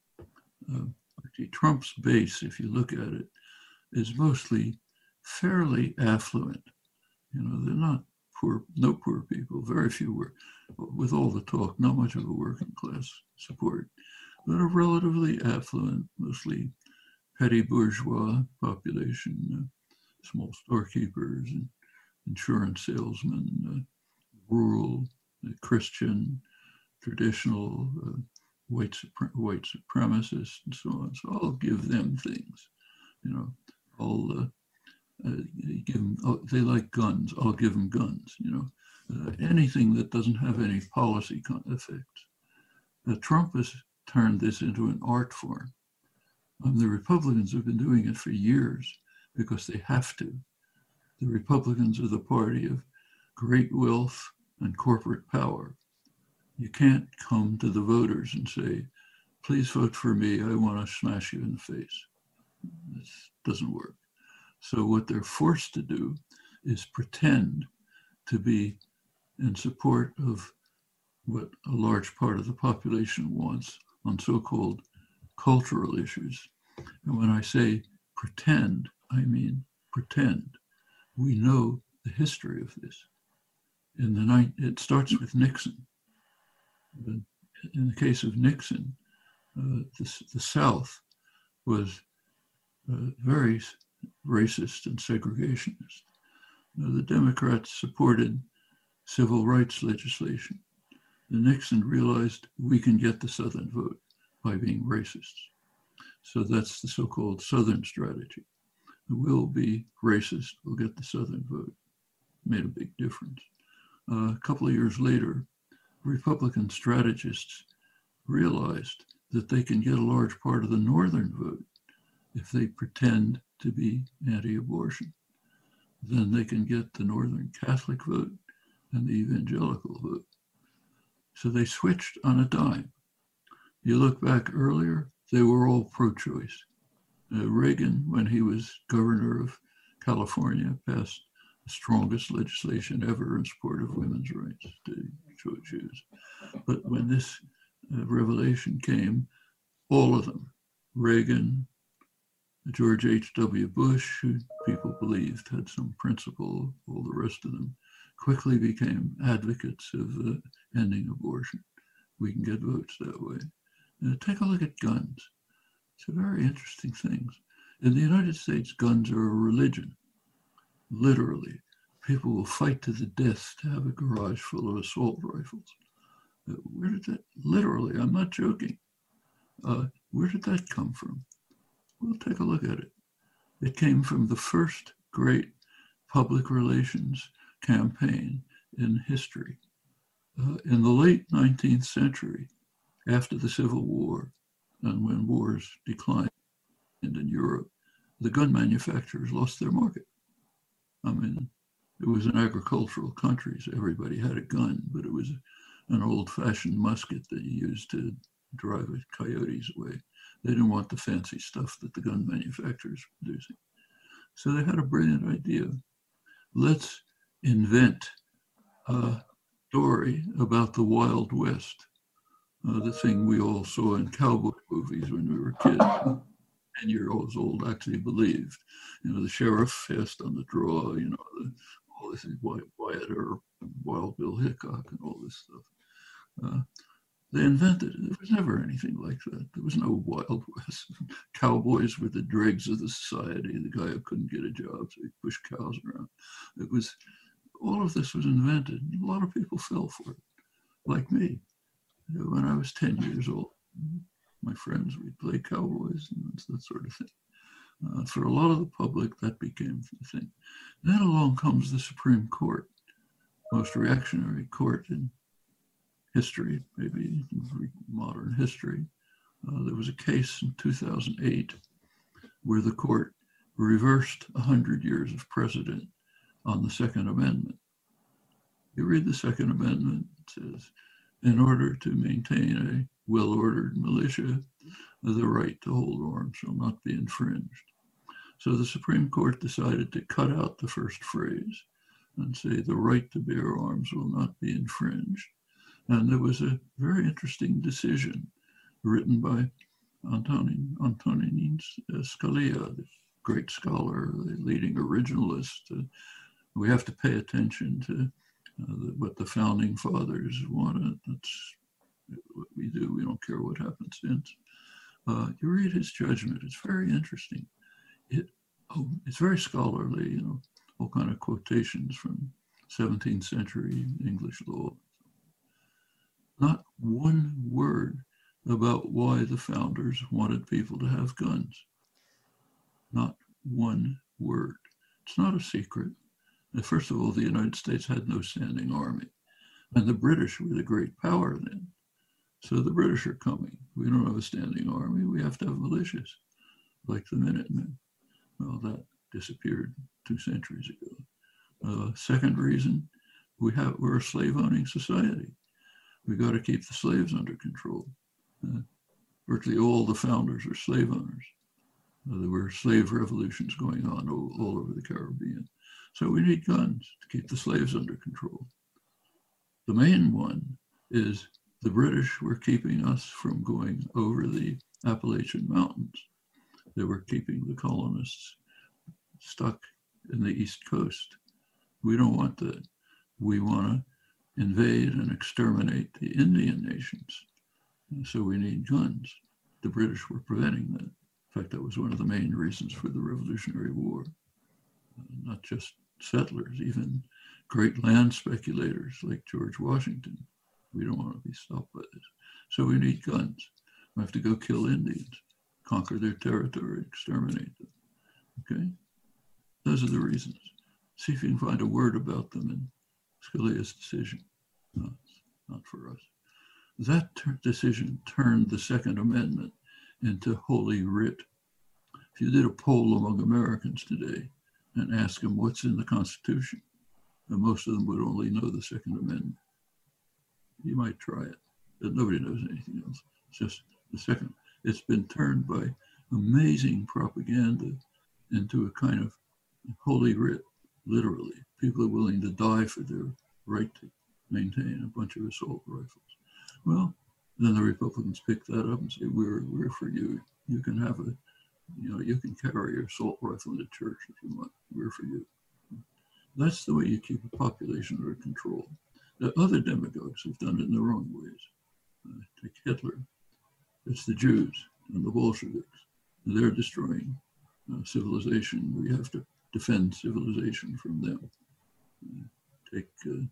Trump's base, if you look at it, is mostly fairly affluent. You know, they're not poor, no poor people, very few were, with all the talk, not much of a working class support, but a relatively affluent, mostly petty bourgeois population, small storekeepers and insurance salesmen, rural, Christian, traditional, white supremacists, and so on. So I'll give them things, you know. I'll give them. They like guns. I'll give them guns. You know, anything that doesn't have any policy effects. Trump has turned this into an art form. The Republicans have been doing it for years because they have to. The Republicans are the party of great wealth and corporate power. You can't come to the voters and say, please vote for me, I want to smash you in the face. This doesn't work. So what they're forced to do is pretend to be in support of what a large part of the population wants, on so-called cultural issues. And when I say pretend, I mean pretend. We know the history of this. It starts with Nixon. In the case of Nixon, the South was very racist and segregationist. The Democrats supported civil rights legislation. And Nixon realized we can get the Southern vote by being racists. So that's the so-called Southern strategy. We'll be racist, we'll get the Southern vote. Made a big difference. A couple of years later, Republican strategists realized that they can get a large part of the Northern vote if they pretend to be anti-abortion. Then they can get the Northern Catholic vote and the evangelical vote. So they switched on a dime. You look back earlier, they were all pro-choice. Reagan, when he was governor of California, passed the strongest legislation ever in support of women's rights to choose. But when this revelation came, all of them, Reagan, George H.W. Bush, who people believed had some principle, all the rest of them, quickly became advocates of ending abortion. We can get votes that way. Take a look at guns. It's a very interesting thing. In the United States, guns are a religion. Literally, people will fight to the death to have a garage full of assault rifles. Where did that, literally, I'm not joking. Where did that come from? Well, take a look at it. It came from the first great public relations campaign in history. In the late 19th century, after the Civil War, and when wars declined in Europe, the gun manufacturers lost their market. I mean, it was an agricultural country, so everybody had a gun, but it was an old-fashioned musket that you used to drive coyotes away. They didn't want the fancy stuff that the gun manufacturers were producing. So they had a brilliant idea. Let's invent a story about the Wild West, the thing we all saw in cowboy movies when we were kids. 10-year-olds old actually believed. You know, the sheriff fast on the draw, you know, all this is Wyatt Earp, Wild Bill Hickok, and all this stuff. They invented it. There was never anything like that. There was no Wild West. Cowboys were the dregs of the society, the guy who couldn't get a job, so he pushed cows around. It was, all of this was invented. A lot of people fell for it, like me. You know, when I was 10 years old, my friends, we'd play cowboys and that sort of thing. For a lot of the public, that became the thing. Then along comes the Supreme Court, most reactionary court in history, maybe modern history. There was a case in 2008 where the court reversed 100 years of precedent on the Second Amendment. You read the Second Amendment, it says, in order to maintain a well-ordered militia, the right to hold arms shall not be infringed. So the Supreme Court decided to cut out the first phrase and say the right to bear arms will not be infringed. And there was a very interesting decision written by Antonin Scalia, the great scholar, the leading originalist. We have to pay attention to what the founding fathers wanted. That's what we do. We don't care what happens since. You read his judgment. It's very interesting. It's very scholarly, you know, all kind of quotations from 17th century English law. Not one word about why the founders wanted people to have guns. Not one word. It's not a secret. First of all, the United States had no standing army, and the British were the great power then. So the British are coming. We don't have a standing army. We have to have militias, like the Minutemen. Well, that disappeared 2 centuries ago. Second reason, we're a slave-owning society. We got to keep the slaves under control. Virtually all the founders are slave owners. There were slave revolutions going on all over the Caribbean. So we need guns to keep the slaves under control. The main one is The British were keeping us from going over the Appalachian Mountains. They were keeping the colonists stuck in the East Coast. We don't want that. We want to invade and exterminate the Indian nations. And so we need guns. The British were preventing that. In fact, that was one of the main reasons for the Revolutionary War. Not just settlers, even great land speculators like George Washington. We don't want to be stopped by this. So we need guns. We have to go kill Indians, conquer their territory, exterminate them. Okay? Those are the reasons. See if you can find a word about them in Scalia's decision. No, it's not for us. That decision turned the Second Amendment into holy writ. If you did a poll among Americans today and asked them what's in the Constitution, and most of them would only know the Second Amendment. You might try it, but nobody knows anything else. It's just the second. It's been turned by amazing propaganda into a kind of holy writ, literally. People are willing to die for their right to maintain a bunch of assault rifles. Well, then the Republicans pick that up and say, we're for you. You can have you can carry your assault rifle into church if you want. We're for you. That's the way you keep a population under control. The other demagogues have done it in the wrong ways. Take Hitler. It's the Jews and the Bolsheviks. They're destroying civilization. We have to defend civilization from them. Take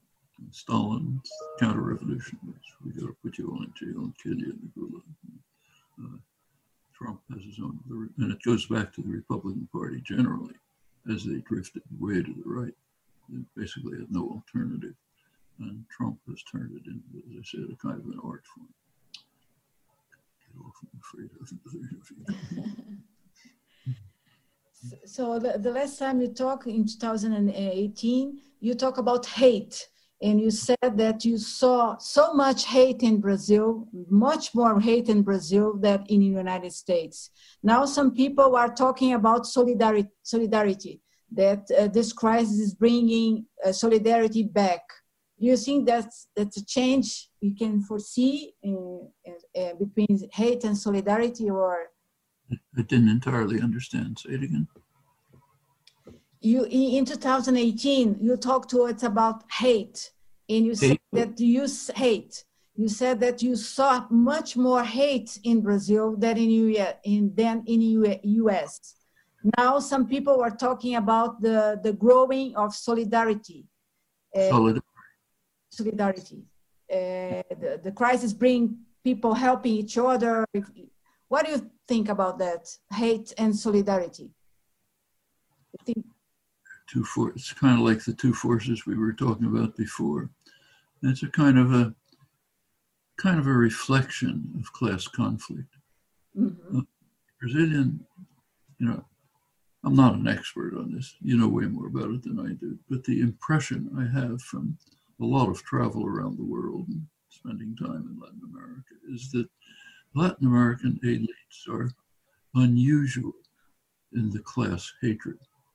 Stalin, counter-revolutionaries. We got to put you all in jail and kill you in the gulag. Trump has his own, and it goes back to the Republican Party generally, as they drifted way to the right. They basically had no alternative. And Trump has turned it into, as I said, a kind of an art form. Get off, I'm afraid of another interview. So the last time you talked in 2018, you talk about hate. And you said that you saw so much hate in Brazil, much more hate in Brazil than in the United States. Now some people are talking about solidarity, that this crisis is bringing solidarity back. Do you think that's a change we can foresee between hate and solidarity, or? I didn't entirely understand. Say it again. You in 2018, you talked to us about hate, and you said that you hate. You said that you saw much more hate in Brazil than in the US. Now some people are talking about the growing of solidarity. Solidarity. The crisis bring people helping each other. What do you think about that? Hate and solidarity. I think it's kind of like the two forces we were talking about before. It's a kind of a reflection of class conflict. Mm-hmm. Brazilian, I'm not an expert on this. You know way more about it than I do. But the impression I have from a lot of travel around the world and spending time in Latin America is that Latin American elites are unusual in the class hatred.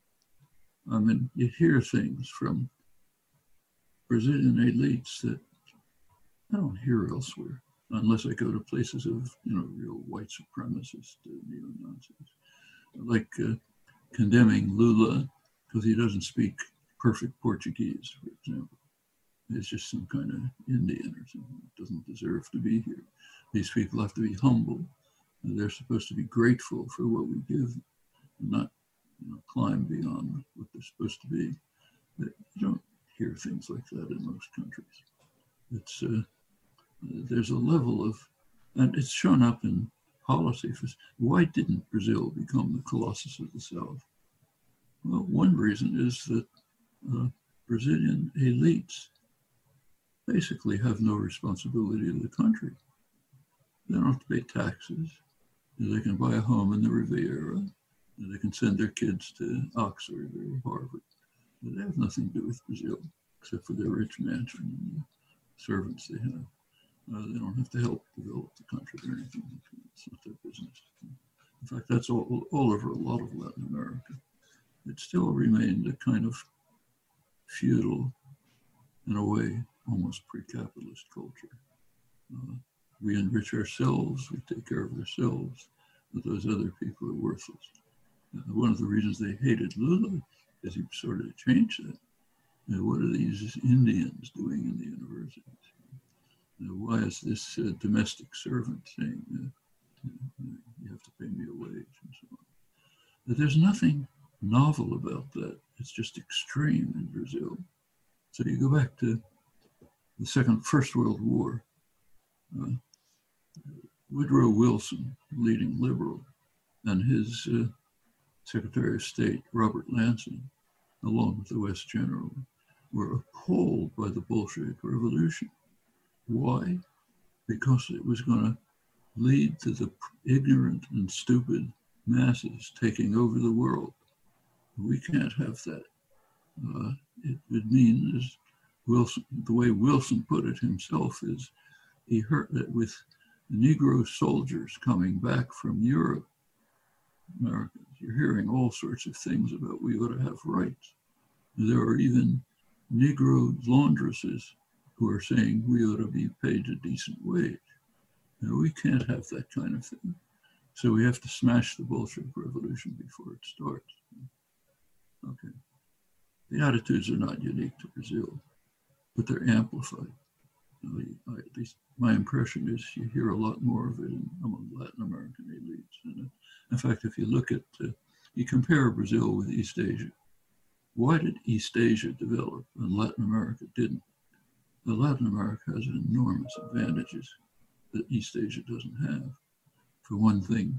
I mean, you hear things from Brazilian elites that I don't hear elsewhere, unless I go to places of, real white supremacist neo-Nazis, like condemning Lula because he doesn't speak perfect Portuguese, for example. He's just some kind of Indian or something that doesn't deserve to be here. These people have to be humble, and they're supposed to be grateful for what we give, and not climb beyond what they're supposed to be. You don't hear things like that in most countries. It's there's a level of, and it's shown up in policy. Why didn't Brazil become the Colossus of the South? Well, one reason is that Brazilian elites basically have no responsibility to the country. They don't have to pay taxes. They can buy a home in the Riviera. They can send their kids to Oxford or Harvard. But they have nothing to do with Brazil, except for their rich mansion and the servants they have. They don't have to help develop the country or anything. It's not their business. In fact, that's all over a lot of Latin America. It still remained a kind of feudal, in a way, almost pre-capitalist culture. We enrich ourselves, we take care of ourselves, but those other people are worthless. One of the reasons they hated Lula is he started to change that. What are these Indians doing in the universities? Why is this domestic servant saying, you have to pay me a wage and so on? But there's nothing novel about that. It's just extreme in Brazil. So you go back to the First World War. Woodrow Wilson, leading liberal, and his Secretary of State, Robert Lansing, along with the West General, were appalled by the Bolshevik Revolution. Why? Because it was going to lead to the ignorant and stupid masses taking over the world. We can't have that. It would mean, as Wilson, the way Wilson put it himself, is he heard that with Negro soldiers coming back from Europe, Americans, you're hearing all sorts of things about we ought to have rights. There are even Negro laundresses who are saying we ought to be paid a decent wage. Now, we can't have that kind of thing. So we have to smash the Bolshevik Revolution before it starts. Okay. The attitudes are not unique to Brazil, but they're amplified. At least my impression is you hear a lot more of it among Latin American elites. And in fact, if you look at, you compare Brazil with East Asia. Why did East Asia develop and Latin America didn't? Well, Latin America has enormous advantages that East Asia doesn't have. For one thing,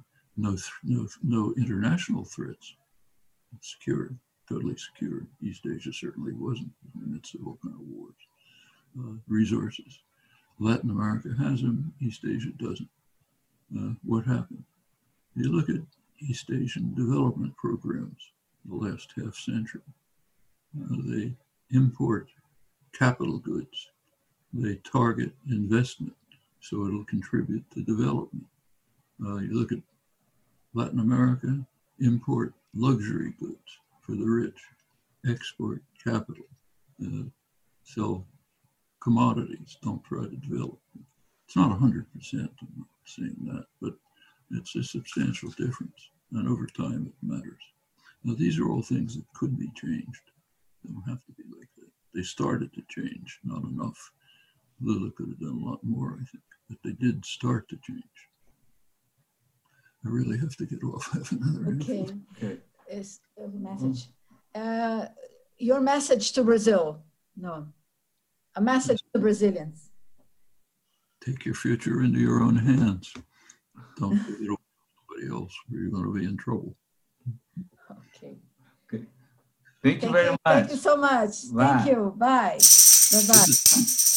no international threats. Secure, totally secure. East Asia certainly wasn't in the midst of all kind of wars. Resources. Latin America has them, East Asia doesn't. What happened? You look at East Asian development programs the last half century. They import capital goods. They target investment so it'll contribute to development. You look at Latin America, import luxury goods for the rich, export capital, sell commodities, don't try to develop. It's not 100%, I'm not saying that, but it's a substantial difference. And over time, it matters. Now, these are all things that could be changed. They don't have to be like that. They started to change, not enough. Lula could have done a lot more, I think, but they did start to change. I really have to get off. I have another interview. Okay. Is a message. Your message to Brazil. No. A message to Brazilians. Take your future into your own hands. Don't give it over to somebody else, or you're going to be in trouble. Okay. Thank you very much. Thank you so much. Bye. Thank you. Bye. Bye-bye.